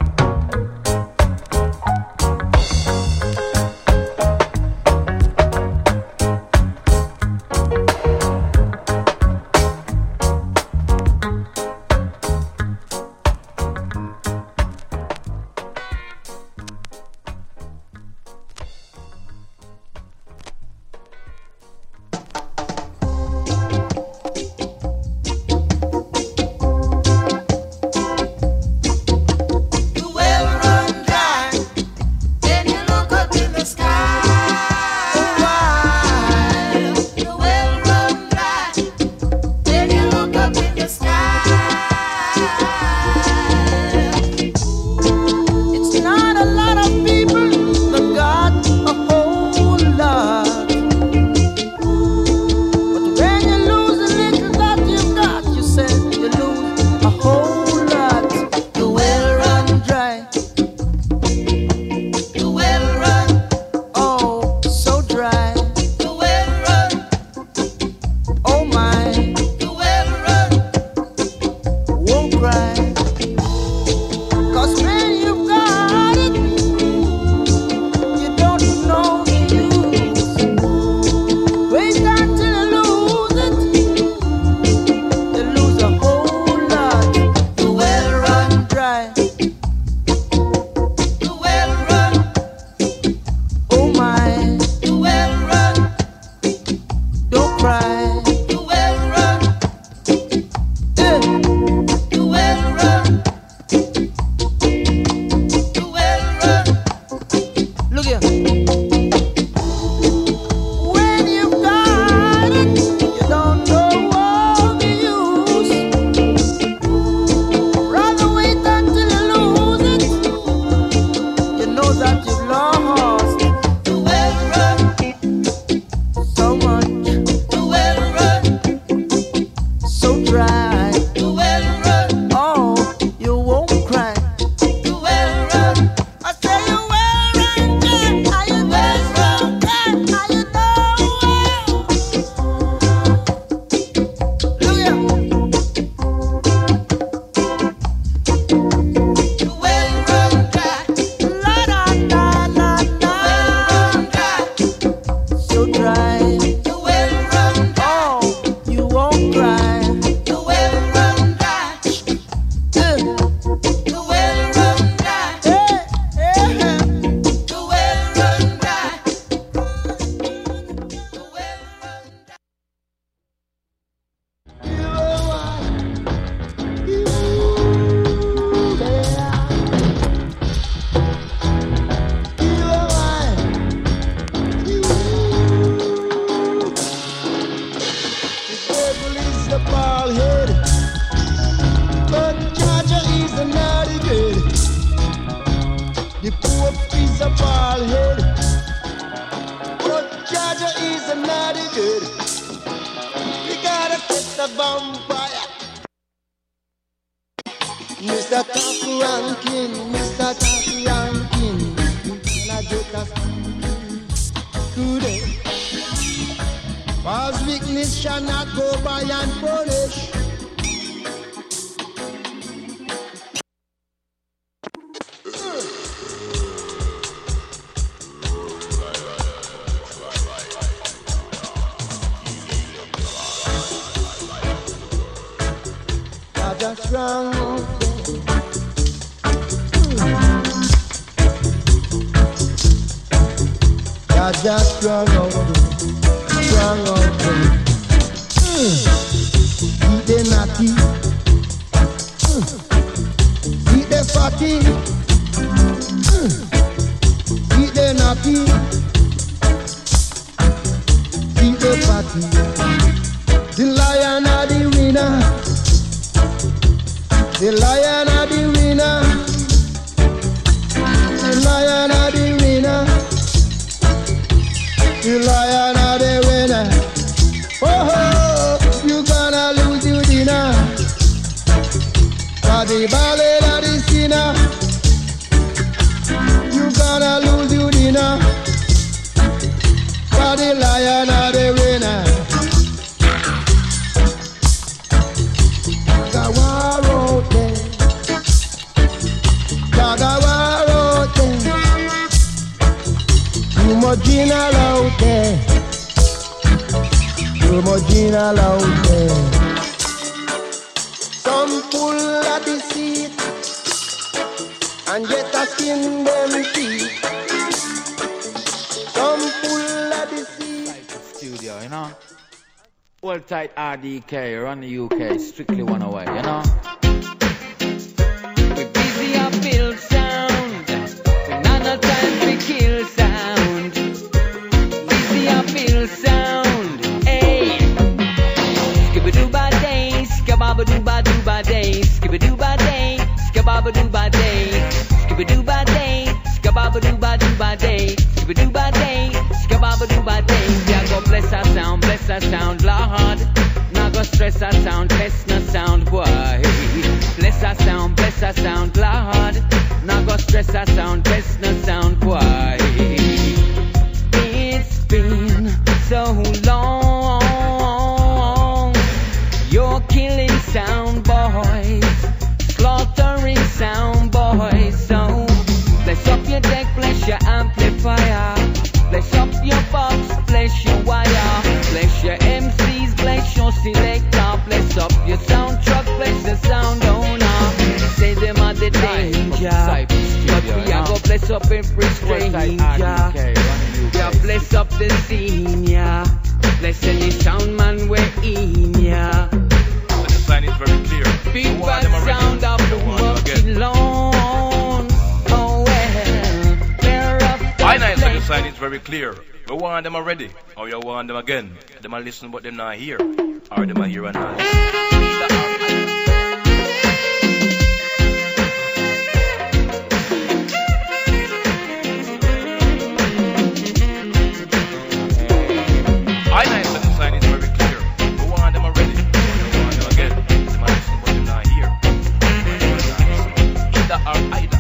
Speaker 10: Mister Top Ranking, Mister Top Ranking, and I get a today.
Speaker 2: Cause weakness shall not go by unpunished. Just strong out there. God just strong out there, strong out there. Eat the natty, eat the fatty, eat the natty, eat the fatty. The lion are the winner. The lion of the winner, the lion of the winner, the lion of the winner. Oh, oh, you gonna lose your dinner. For the ballad of the sinner, you gonna lose your dinner. For the lion of the winner. Too much gin out there, too much gin out there. Some pull at the seat and get a skin them teeth. Some pull at the seat.
Speaker 12: Studio, you know. Hold tight R D K, run the U K, strictly one away, you know. We busy up build sound, we not no time to kill sound. Busy up build sound, hey. Skibba doo ba day, skababa doo ba doo ba day, skibba doo ba day, skababa doo ba day, skibba doo ba day, skababa doo ba doo ba day, skibba doo ba day, skababa doo ba day. Yeah, go bless our sound, bless our sound, Lord. Now go stress our sound, test no sound, boy. Bless our sound, bless our sound, Lord. Now go stress our sound, test no sound, boy. It's been so long. You're killing sound boys, slaughtering sound boys. So bless up your deck, bless your amplifier. Bless up your box, bless your wire. Bless your M Cs, bless your selector. Bless up your sound truck, bless the sound owner. Say them are the danger, but we are gonna bless up every stranger. We are bless up the senior. Bless any sound man we're in ya.
Speaker 13: But the sign is very clear.
Speaker 12: Big bad sound of the working long. Oh well, they're up.
Speaker 13: I know so the sign is very clear. We want them already, or you want them again. Them are listen but them not here, or them are here and not listen. I know so the sign is very clear. We want them already, or you want them again. Them are listen but them not here. Either or either.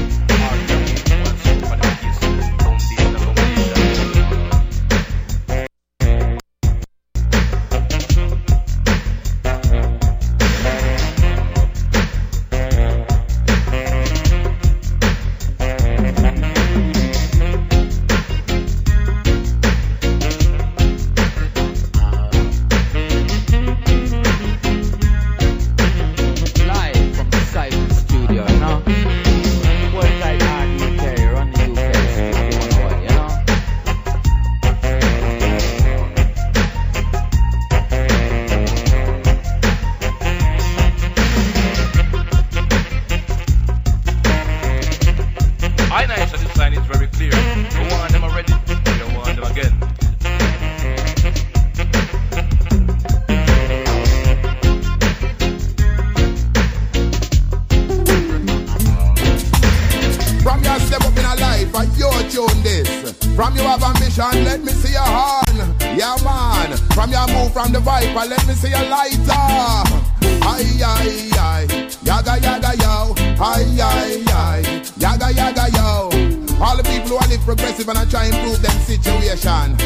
Speaker 14: Let me see a lighter. Aye, aye, aye. Yaga, yaga, yo. Aye, aye, aye. Yaga, yaga, yo. All the people who are live progressive and I try and improve them situation.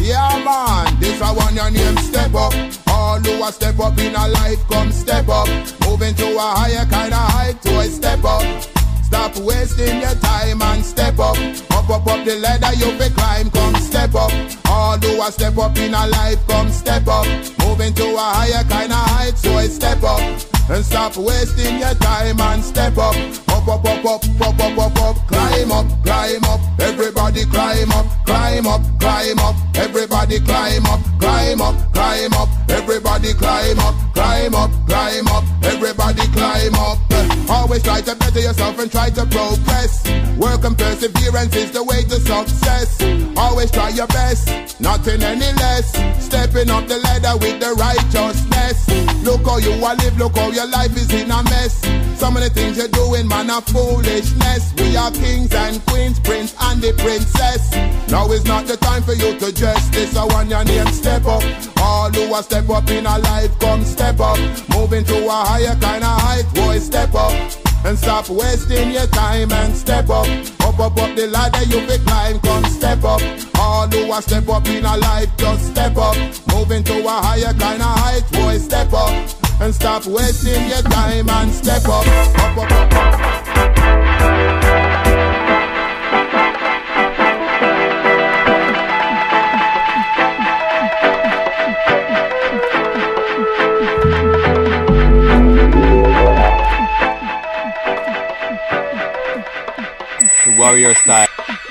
Speaker 14: Yeah man, this a one your name step up. All who a step up in a life come step up. Moving to a higher kind of height to a step up. Stop wasting your time and step up. Up, up, up the ladder you be climb, come step up. All who a step up in a life come step up. Moving to a higher kind of height so I step up. And stop wasting your time and step up. Up, up, up, up, up, up, up, up. Climb up, climb up. Everybody climb up, climb up, climb up. Everybody climb up, climb up, climb up. Everybody climb up, climb up, climb up. Everybody climb up. Always try to better yourself and try to progress. Work and perseverance is the way to success. Always try your best, nothing any less. Stepping up the ladder with the righteousness. Look how you a live, look how your life is in a mess. Some of the things you're doing, man, are foolishness. We are kings and queens, prince and the princess. Now is not the time for you to dress. This I want your name step up. All who a step up in a life, come step up. Moving to a higher kind of height, boy, step up. And stop wasting your time and step up. Up, up, up the ladder you be climb, come step up. All who a step up in a life, just step up. Moving to a higher kind of height, boy, step up. And stop wasting your time and step up. Up, up, up, up.
Speaker 6: Warrior style.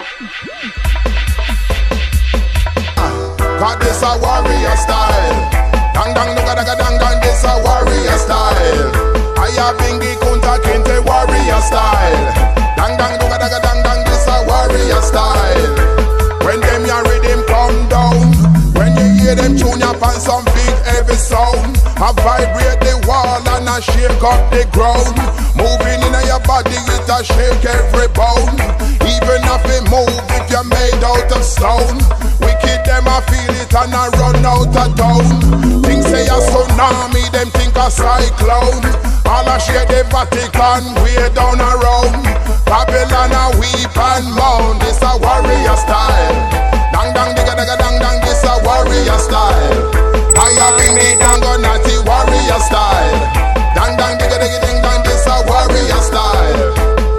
Speaker 14: God, this a warrior style. Dang dang nuga daga dang dang, this a warrior style. I have bingi kunta kinte warrior style. Dang dang nuga daga dang dang, this a warrior style. When them ya rhythm come down, when you hear them tune up on some big heavy sound, I vibrate the wall and I shake up the ground. Moving in your body, it a shake every bone. Even if it move, if you're made out of stone. Wicked them a feel it and I run out of town. Things say a tsunami, them think a cyclone. All a share the Vatican, way down around. Babylon a weep and moan. This a warrior style. Dang dang digga digga dang dang, this a warrior style. I have been the dango natty warrior style. Dang dang digga digga ding dang, this a warrior style.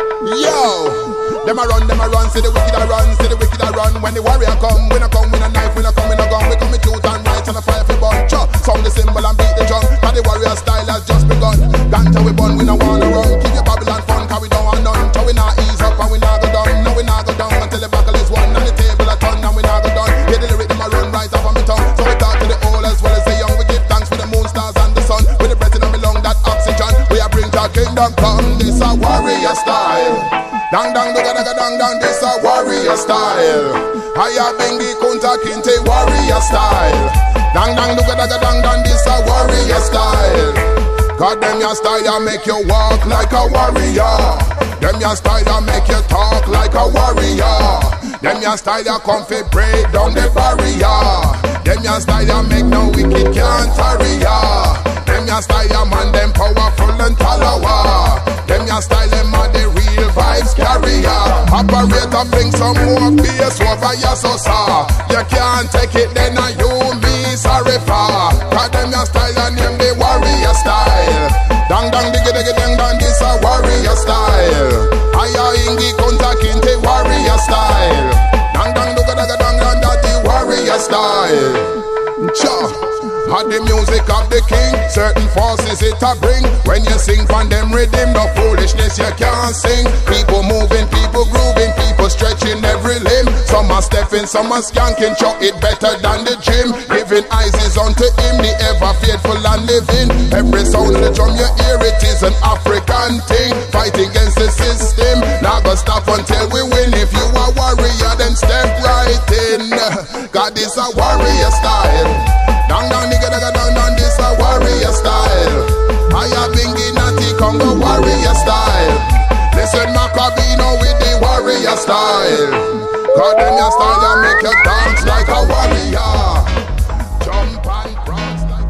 Speaker 14: Yo, them a run, them a run, see the wicked a run, see the wicked a run. When the warrior come, we no come with a knife, we no come with a gun, we come with truth and right and a fire for bunch. Sound the cymbal and beat the drum, cause the warrior style has just begun. Ganja we bun, we no wanna run, keep your Babylon fun, cause we don't want none. So we not ease up and we not go down, no we not go down until the buckle is won and the table a turn and we not go down. Yeah, the lyric them a run right off of me tongue, so we talk to the old as well as the young. We give thanks for the moon, stars and the sun, with the breath in my lung, that oxygen. We a bring our kingdom come, this a warrior style. Dang dang duga daga dang dang, this a warrior style. Haya bengi kunta kinte warrior style. Dang dang duga daga dang dang, this a warrior style. God them your style ya make you walk like a warrior. Them your style ya make you talk like a warrior. Them your style ya come fi break down the barrier. Them your style ya make no wicked can't tarry ya. Them your style ya man them powerful and talawa. Them your style them are the real vibes carrier. Operator bring some more bass over your sosa. You can't take it then and you me sorry for. Cause them your style and name the warrior style. Dang dang diggy diggy dang dang, this a warrior style. Aya ingi kunta kinte warrior style. Dang dang duga daga dang dang, that the warrior style. Cha. Had the music of the king, certain forces it a bring. When you sing from them rhythm, no foolishness you can't sing. People moving, people grooving, people stretching every limb. Some are stepping, some are skanking, show it better than the gym. Giving eyes is unto him, the ever faithful and living. Every sound of the drum you hear, it is an African thing. Fighting against the system, not gonna stop until we win. If you are warrior, then step right in. God is a warrior style. Dang dang nigga daga dang dang, this a warrior style. I have bingi natty Congo warrior style. Listen Macabino with the warrior style. God them your style ya make you dance like a warrior. Jump and prance like.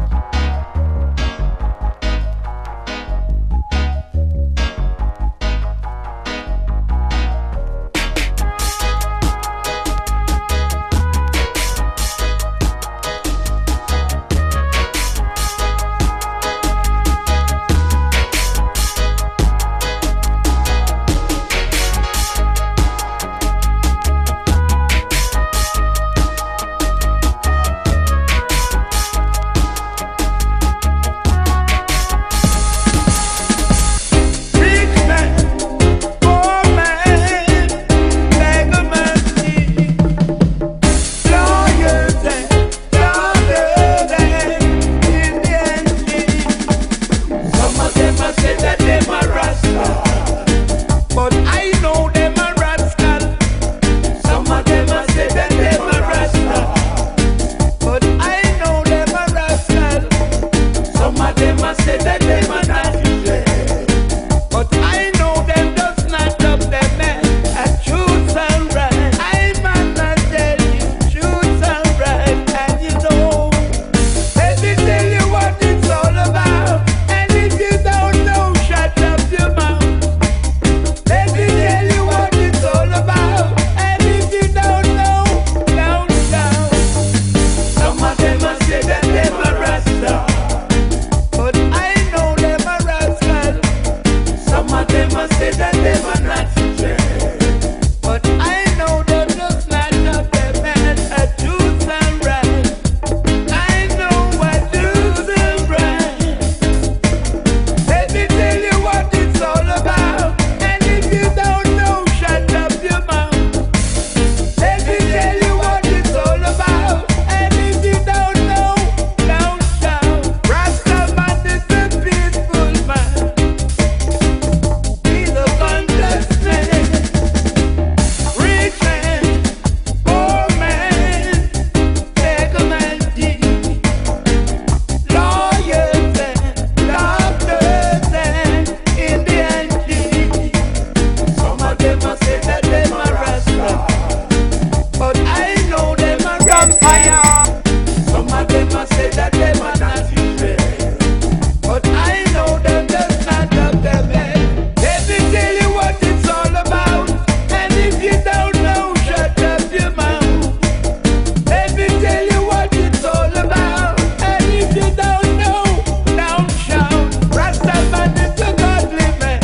Speaker 10: say that them are not straight, but I know them just not up them head at truth and right. I know what truth and right. Let me tell you what it's all about, and if you don't know, shut up your mouth. Let me tell you what it's all about, and if you don't know, don't shout. Rasta man is a peaceful man. He's a conscious man. Rich man, poor man, beggar man, thief. Lawyers and doctors and Indian chiefs. Some of them a say that them a Rasta, but I know them a Rasta. Some of them a say that them a not Israel, but I know them just not up them head. Let me tell you what it's all about, and if you don't know, shut up your mouth. Let me tell you what it's all about, and if you don't know, don't shout. Rasta man is a godly man.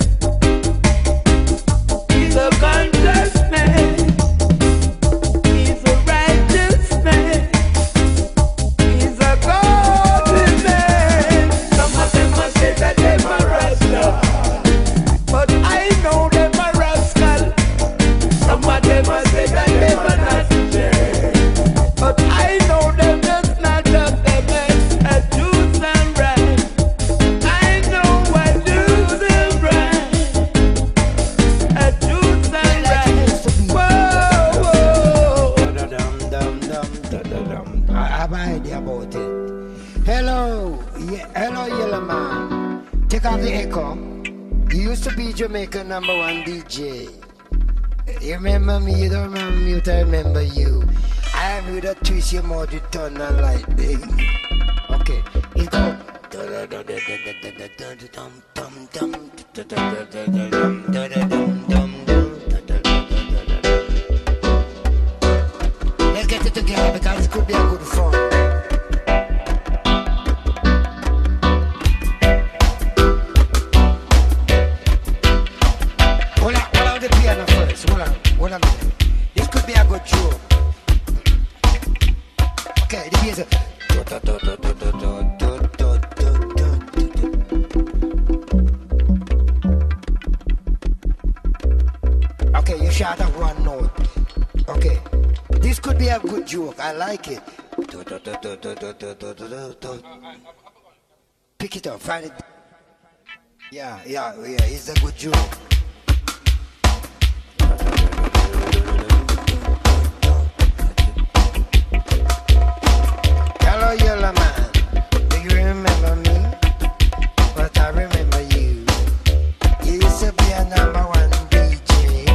Speaker 10: He's a conscious man. He's a righteous man. He's a godly man. Some of them a say that them a Rasta, but I know them a rascal. Some of them a say that them a nasty, but I know them just not up them head at truth and right. I know what truth and right, at truth and right. Whoa, whoa.
Speaker 15: I have an idea about it. Hello, yeah, hello, yellow man. Take off the echo. You used to be Jamaican number one D J. You remember me? You don't remember me? But I remember you. I am with a twist your mouth, you turn on lightning. Okay, let's go. Let's get it together because this could be a good fun. Hold on, hold on the piano first. Hold on, hold on a minute. This could be a good joke. Okay, the bass. Okay, you shout out one note. Okay, this could be a good joke. I like it. Pick it up, find it. Yeah, yeah, yeah, it's a good joke. Hello, yellow man. Do you remember me? But I remember you. You used to be a number one D J.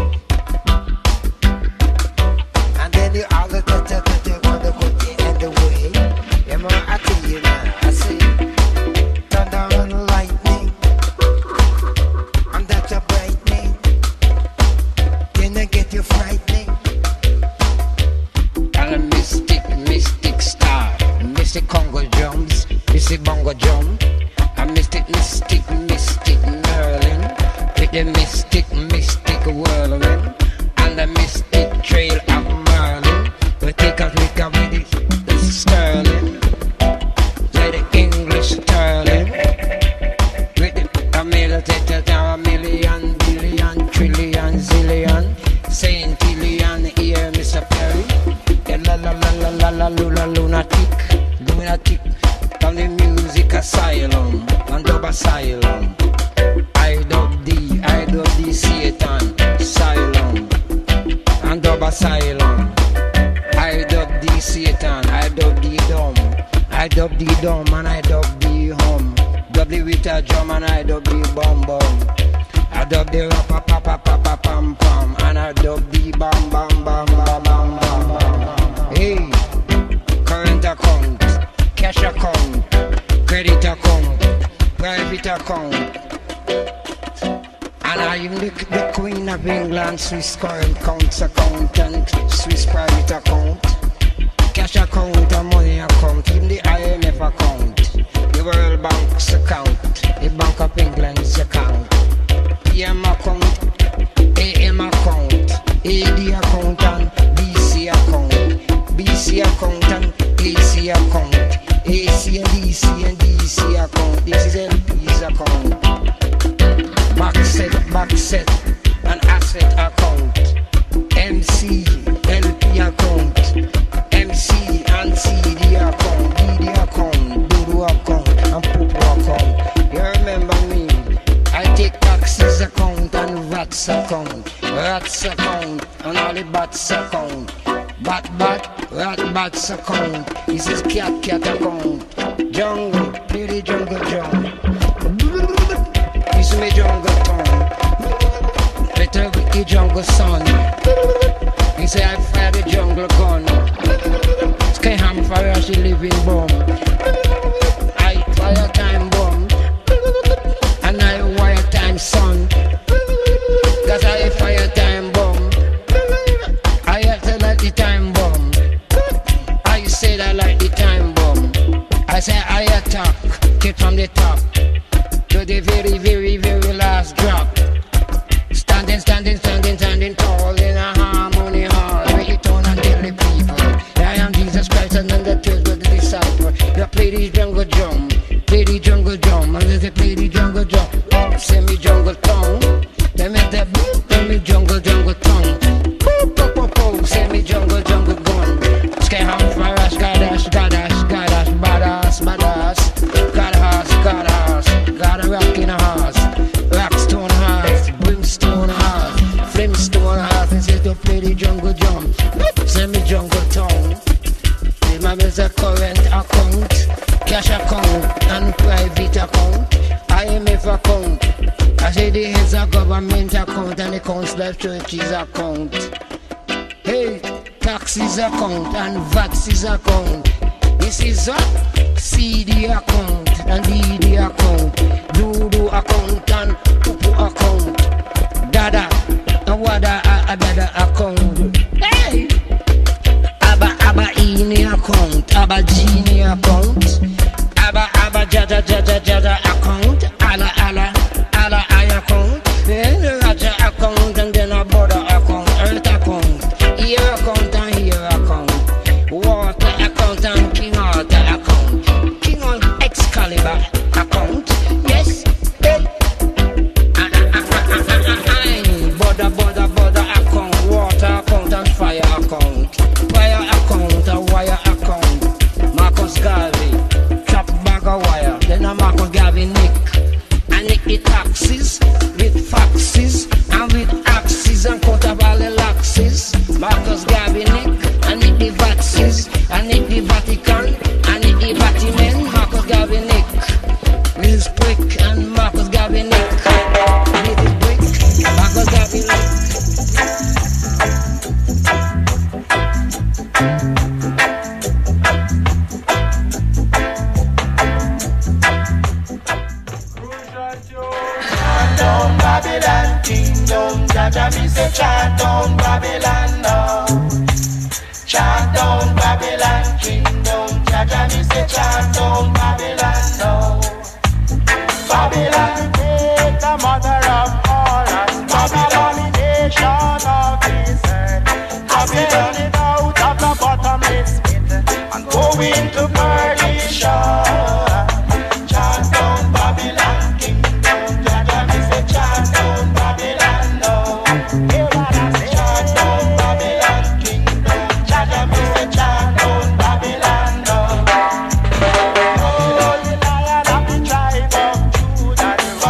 Speaker 15: And then you all the time you want to put the end away. You know, I tell you now, I see thunder and lightning. And that's a brightening. Then I get you frightening.
Speaker 16: I'm a mystic, mystic star. Mystic Congo drums, mystic bongo drum. A mystic, mystic, mystic Merlin. With the mystic, mystic whirlwind. And the mystic trail of Merlin. We take a look at with it, the sterling. Like the English sterling. With the a million, a million, billion, trillion, zillion. Saint Killian, here, Mister Perry. La la la la la la lula lunatic, lunatic. From the music asylum, and dub asylum. I dub D, I dub D Satan, asylum, and dub asylum. I dub D Satan, I dub D dumb, I dub D dumb, and I dub D hum. Dub the with a drum, and I dub D bum bum. I dub the rappa pa pa pa pa pam pam, and I dub the bam bam bam bam bam bam. Hey, current account, cash account, credit account, private account. And I am the, the Queen of England, Swiss current accounts accountant, Swiss private account, cash account and money account, even the I M F account, the World Bank's account, the Bank of England's account, P M account. asset, an asset account. M C, L P account. M C and C D account. D D account, Dodo account, and Popo account. You remember me? I take taxes account and V A T's account. Rats account and all the bats account. Bat bat, rat bats account. This is cat cat account. Jungle, play the jungle drum. This is my jungle tongue. Better with the jungle son. He say I fire the jungle gun. Sky ham fire she living bomb. I fire time bomb. And I wire time sun. Cause I fire time bomb. I have to like the time bomb. I said I like the time bomb. I say I attack, kick from the top to the very, very, very last drop. Standing, standing, standing, standing tall in a harmony hall. Make it on and tell the people I am Jesus Christ and then the twelve of the disciple. You play the jungle drum, play the jungle drum, and they play the jungle drum. Oh, send me jungle tongue. They make that boop, send me jungle, jungle tongue. Boop, boop, boop, boop, send me jungle, jungle gun. Sky ham farash, gadash, gadash, gadash, badass, badass. Gadass, gadass, got a rock in a horse. Rockstone horse, brimstone horse, flimstone horse. And say to play the jungle drum. Send me jungle tongue. Remember the current account, cash account, and private account. I M F account. I say the heads of government account and the council of churches account. Hey, taxes account and V A T's account. This is a C D account and D D account. Dodo account and Popo account. Dada and Wada a Dada account. Hey, Abba Abba Ini account, Abba Genie account, Abba Abba Jada Jada Jada account, Ala Ala. Ala I account, then the Raja account, and then a border account, earth account, ear account and here account, water account and King Arthur account, King on Excalibur account, yes, hey, ah, ah, ah, ah, ah, ah, ah, border, border, border account, water account and fire account, fire account and wire account, Marcus Garvey, chop bag of wire, then a Marcus Garvey Nick. I nick the taxes with faxes and with axes and cut up all the laxes. Marcus Garvey nick, I nick the Vaxes, I nick the Vatican, I nick the Vatican. Marcus Garvey nick, Liz Brick and Marcus Garvey nick, Liz Brick, Marcus Garvey nick.
Speaker 17: Babylon kingdom, Jaja me say chant down Babylon now. Chant down Babylon kingdom, Jaja me say chant down Babylon now. Babylon take the mother of all and Babylon nation of this earth. Babylon it out of the bottomless pit and go into perdition. Chant down Babylon kingdom, Jaja me say chant down Babylon now. Chant down Babylon kingdom, Jaja me say chant down Babylon now. Oh, the Lion of the tribe of Judah, the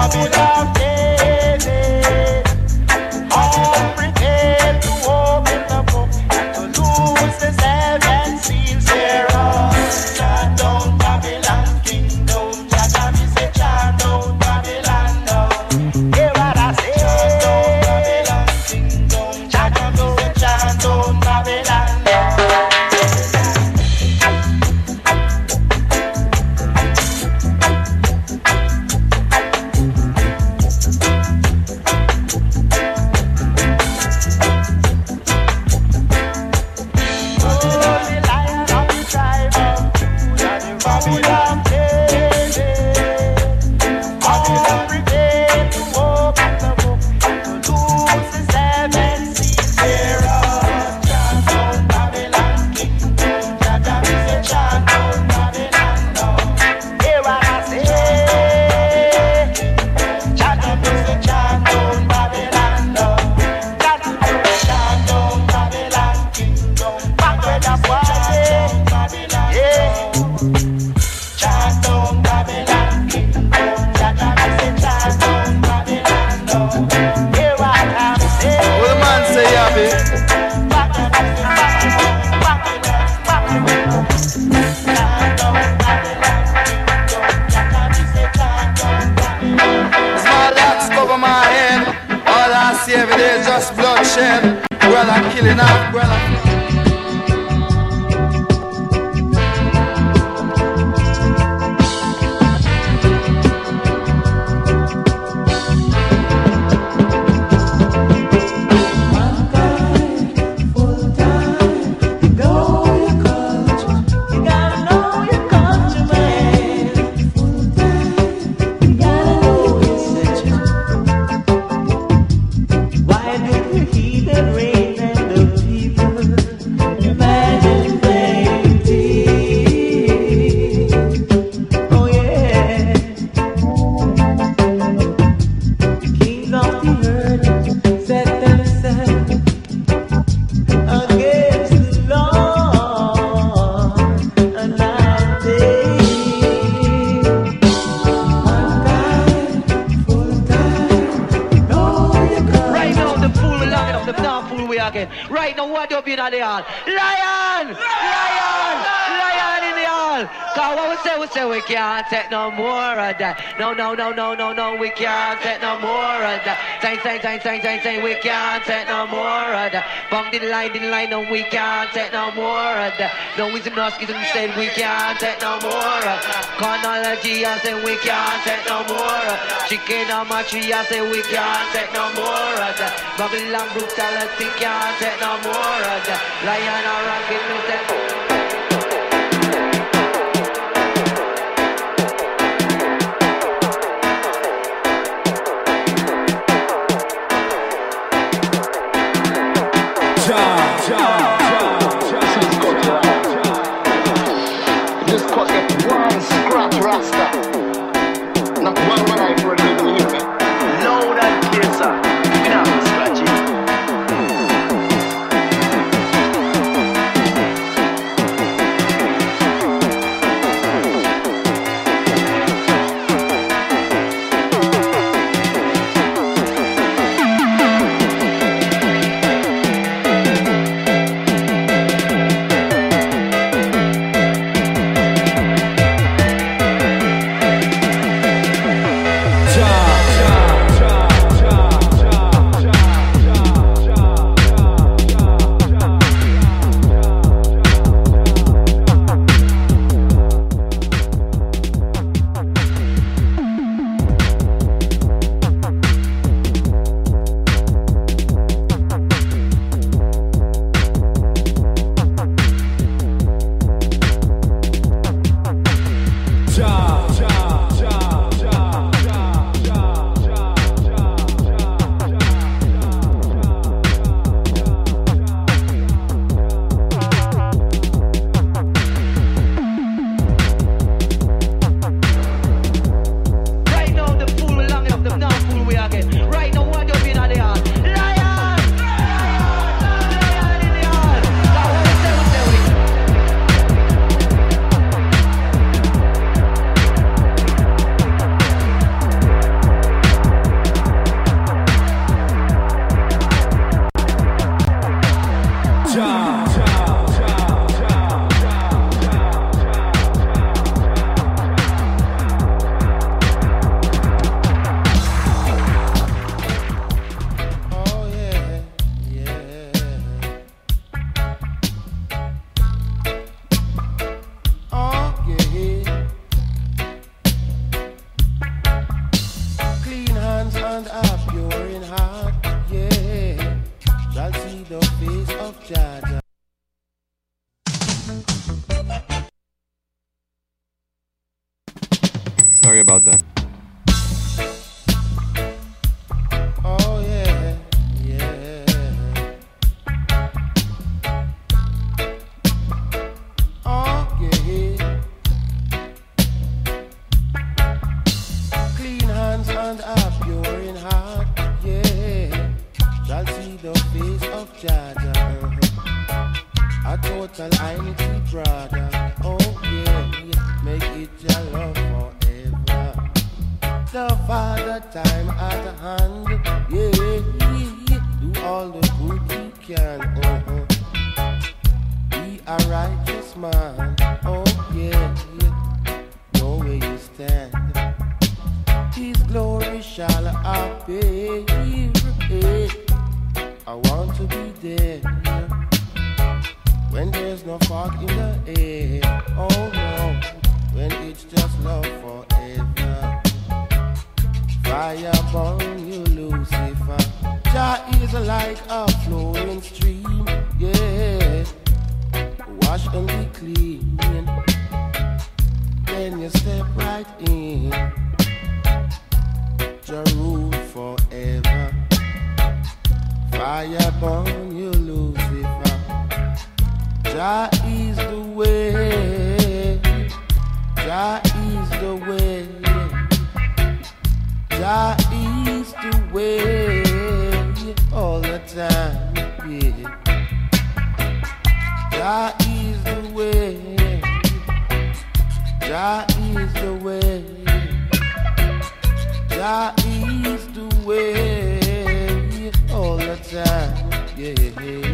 Speaker 17: Hear what I'm saying.
Speaker 11: What the man say, Abby? Small locks cover my head. All I see every day is just bloodshed. Well, I'm killing off, well, I'm
Speaker 12: right now, what up in the hall? Lion! Lion! Lion in the hall! Cause what we say, we say we can't take no more of that. No, no, no, no, no, no, we can't take no more of that. Say, say, say, say, say, say, we can't take no more of that. Bang the line, the line, no, we can't take no more of that. No wisdom, no schism, said we can't take no more of that. Chronology, I say we can't take no more of that. Chicken on my tree, I say we can't take no more of that. Babylon brutality, can't take no more of that. Lion or rocket, no take.
Speaker 17: This cut get one scratch rasta. Not one man I for living in me. Loud and clear, sir. You know how to scratch it.
Speaker 6: Sorry about that.
Speaker 2: Oh yeah, yeah. Okay. Clean hands and a pure in heart, yeah. Shall see the face of Jah Jah. babe. I want to be there when there's no fog in the air. Oh no, when it's just love forever. Fire burn you, Lucifer. Jah is like a flowing stream, yeah. Wash and be clean. Then you step right in. Jah rule forever. Fire burn you, Lucifer. Jah is the way. Jah is the way. Jah is the way. All the time, yeah. Jah is the way. Jah is the way. Jah is the way. All the time, yeah.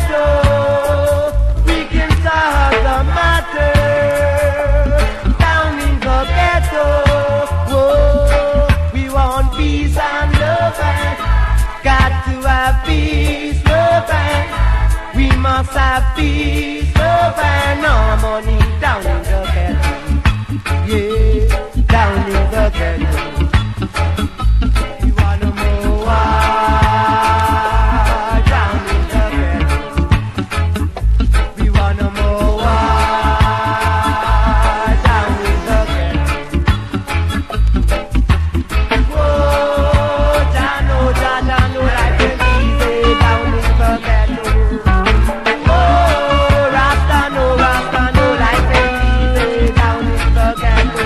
Speaker 17: Down easy down in the ghetto. You wanna know why down in the ghetto? We wanna know why down in the ghetto. Whoa, Jah know, Jah, Jah know life is easy down in the ghetto. Oh, Rasta know, Rasta know life is easy down in the ghetto.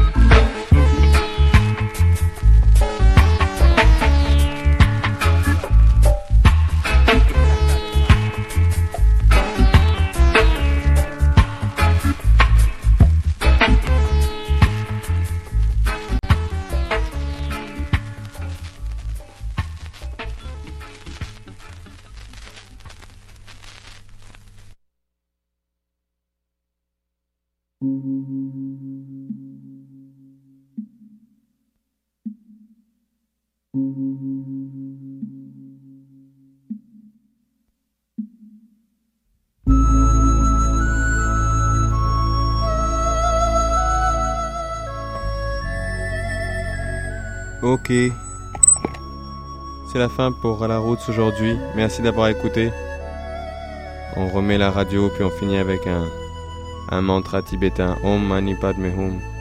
Speaker 6: Ok. C'est la fin pour La Roots aujourd'hui. Merci d'avoir écouté. On remet la radio puis on finit avec un, un mantra tibétain. Om Mani Padme Hum.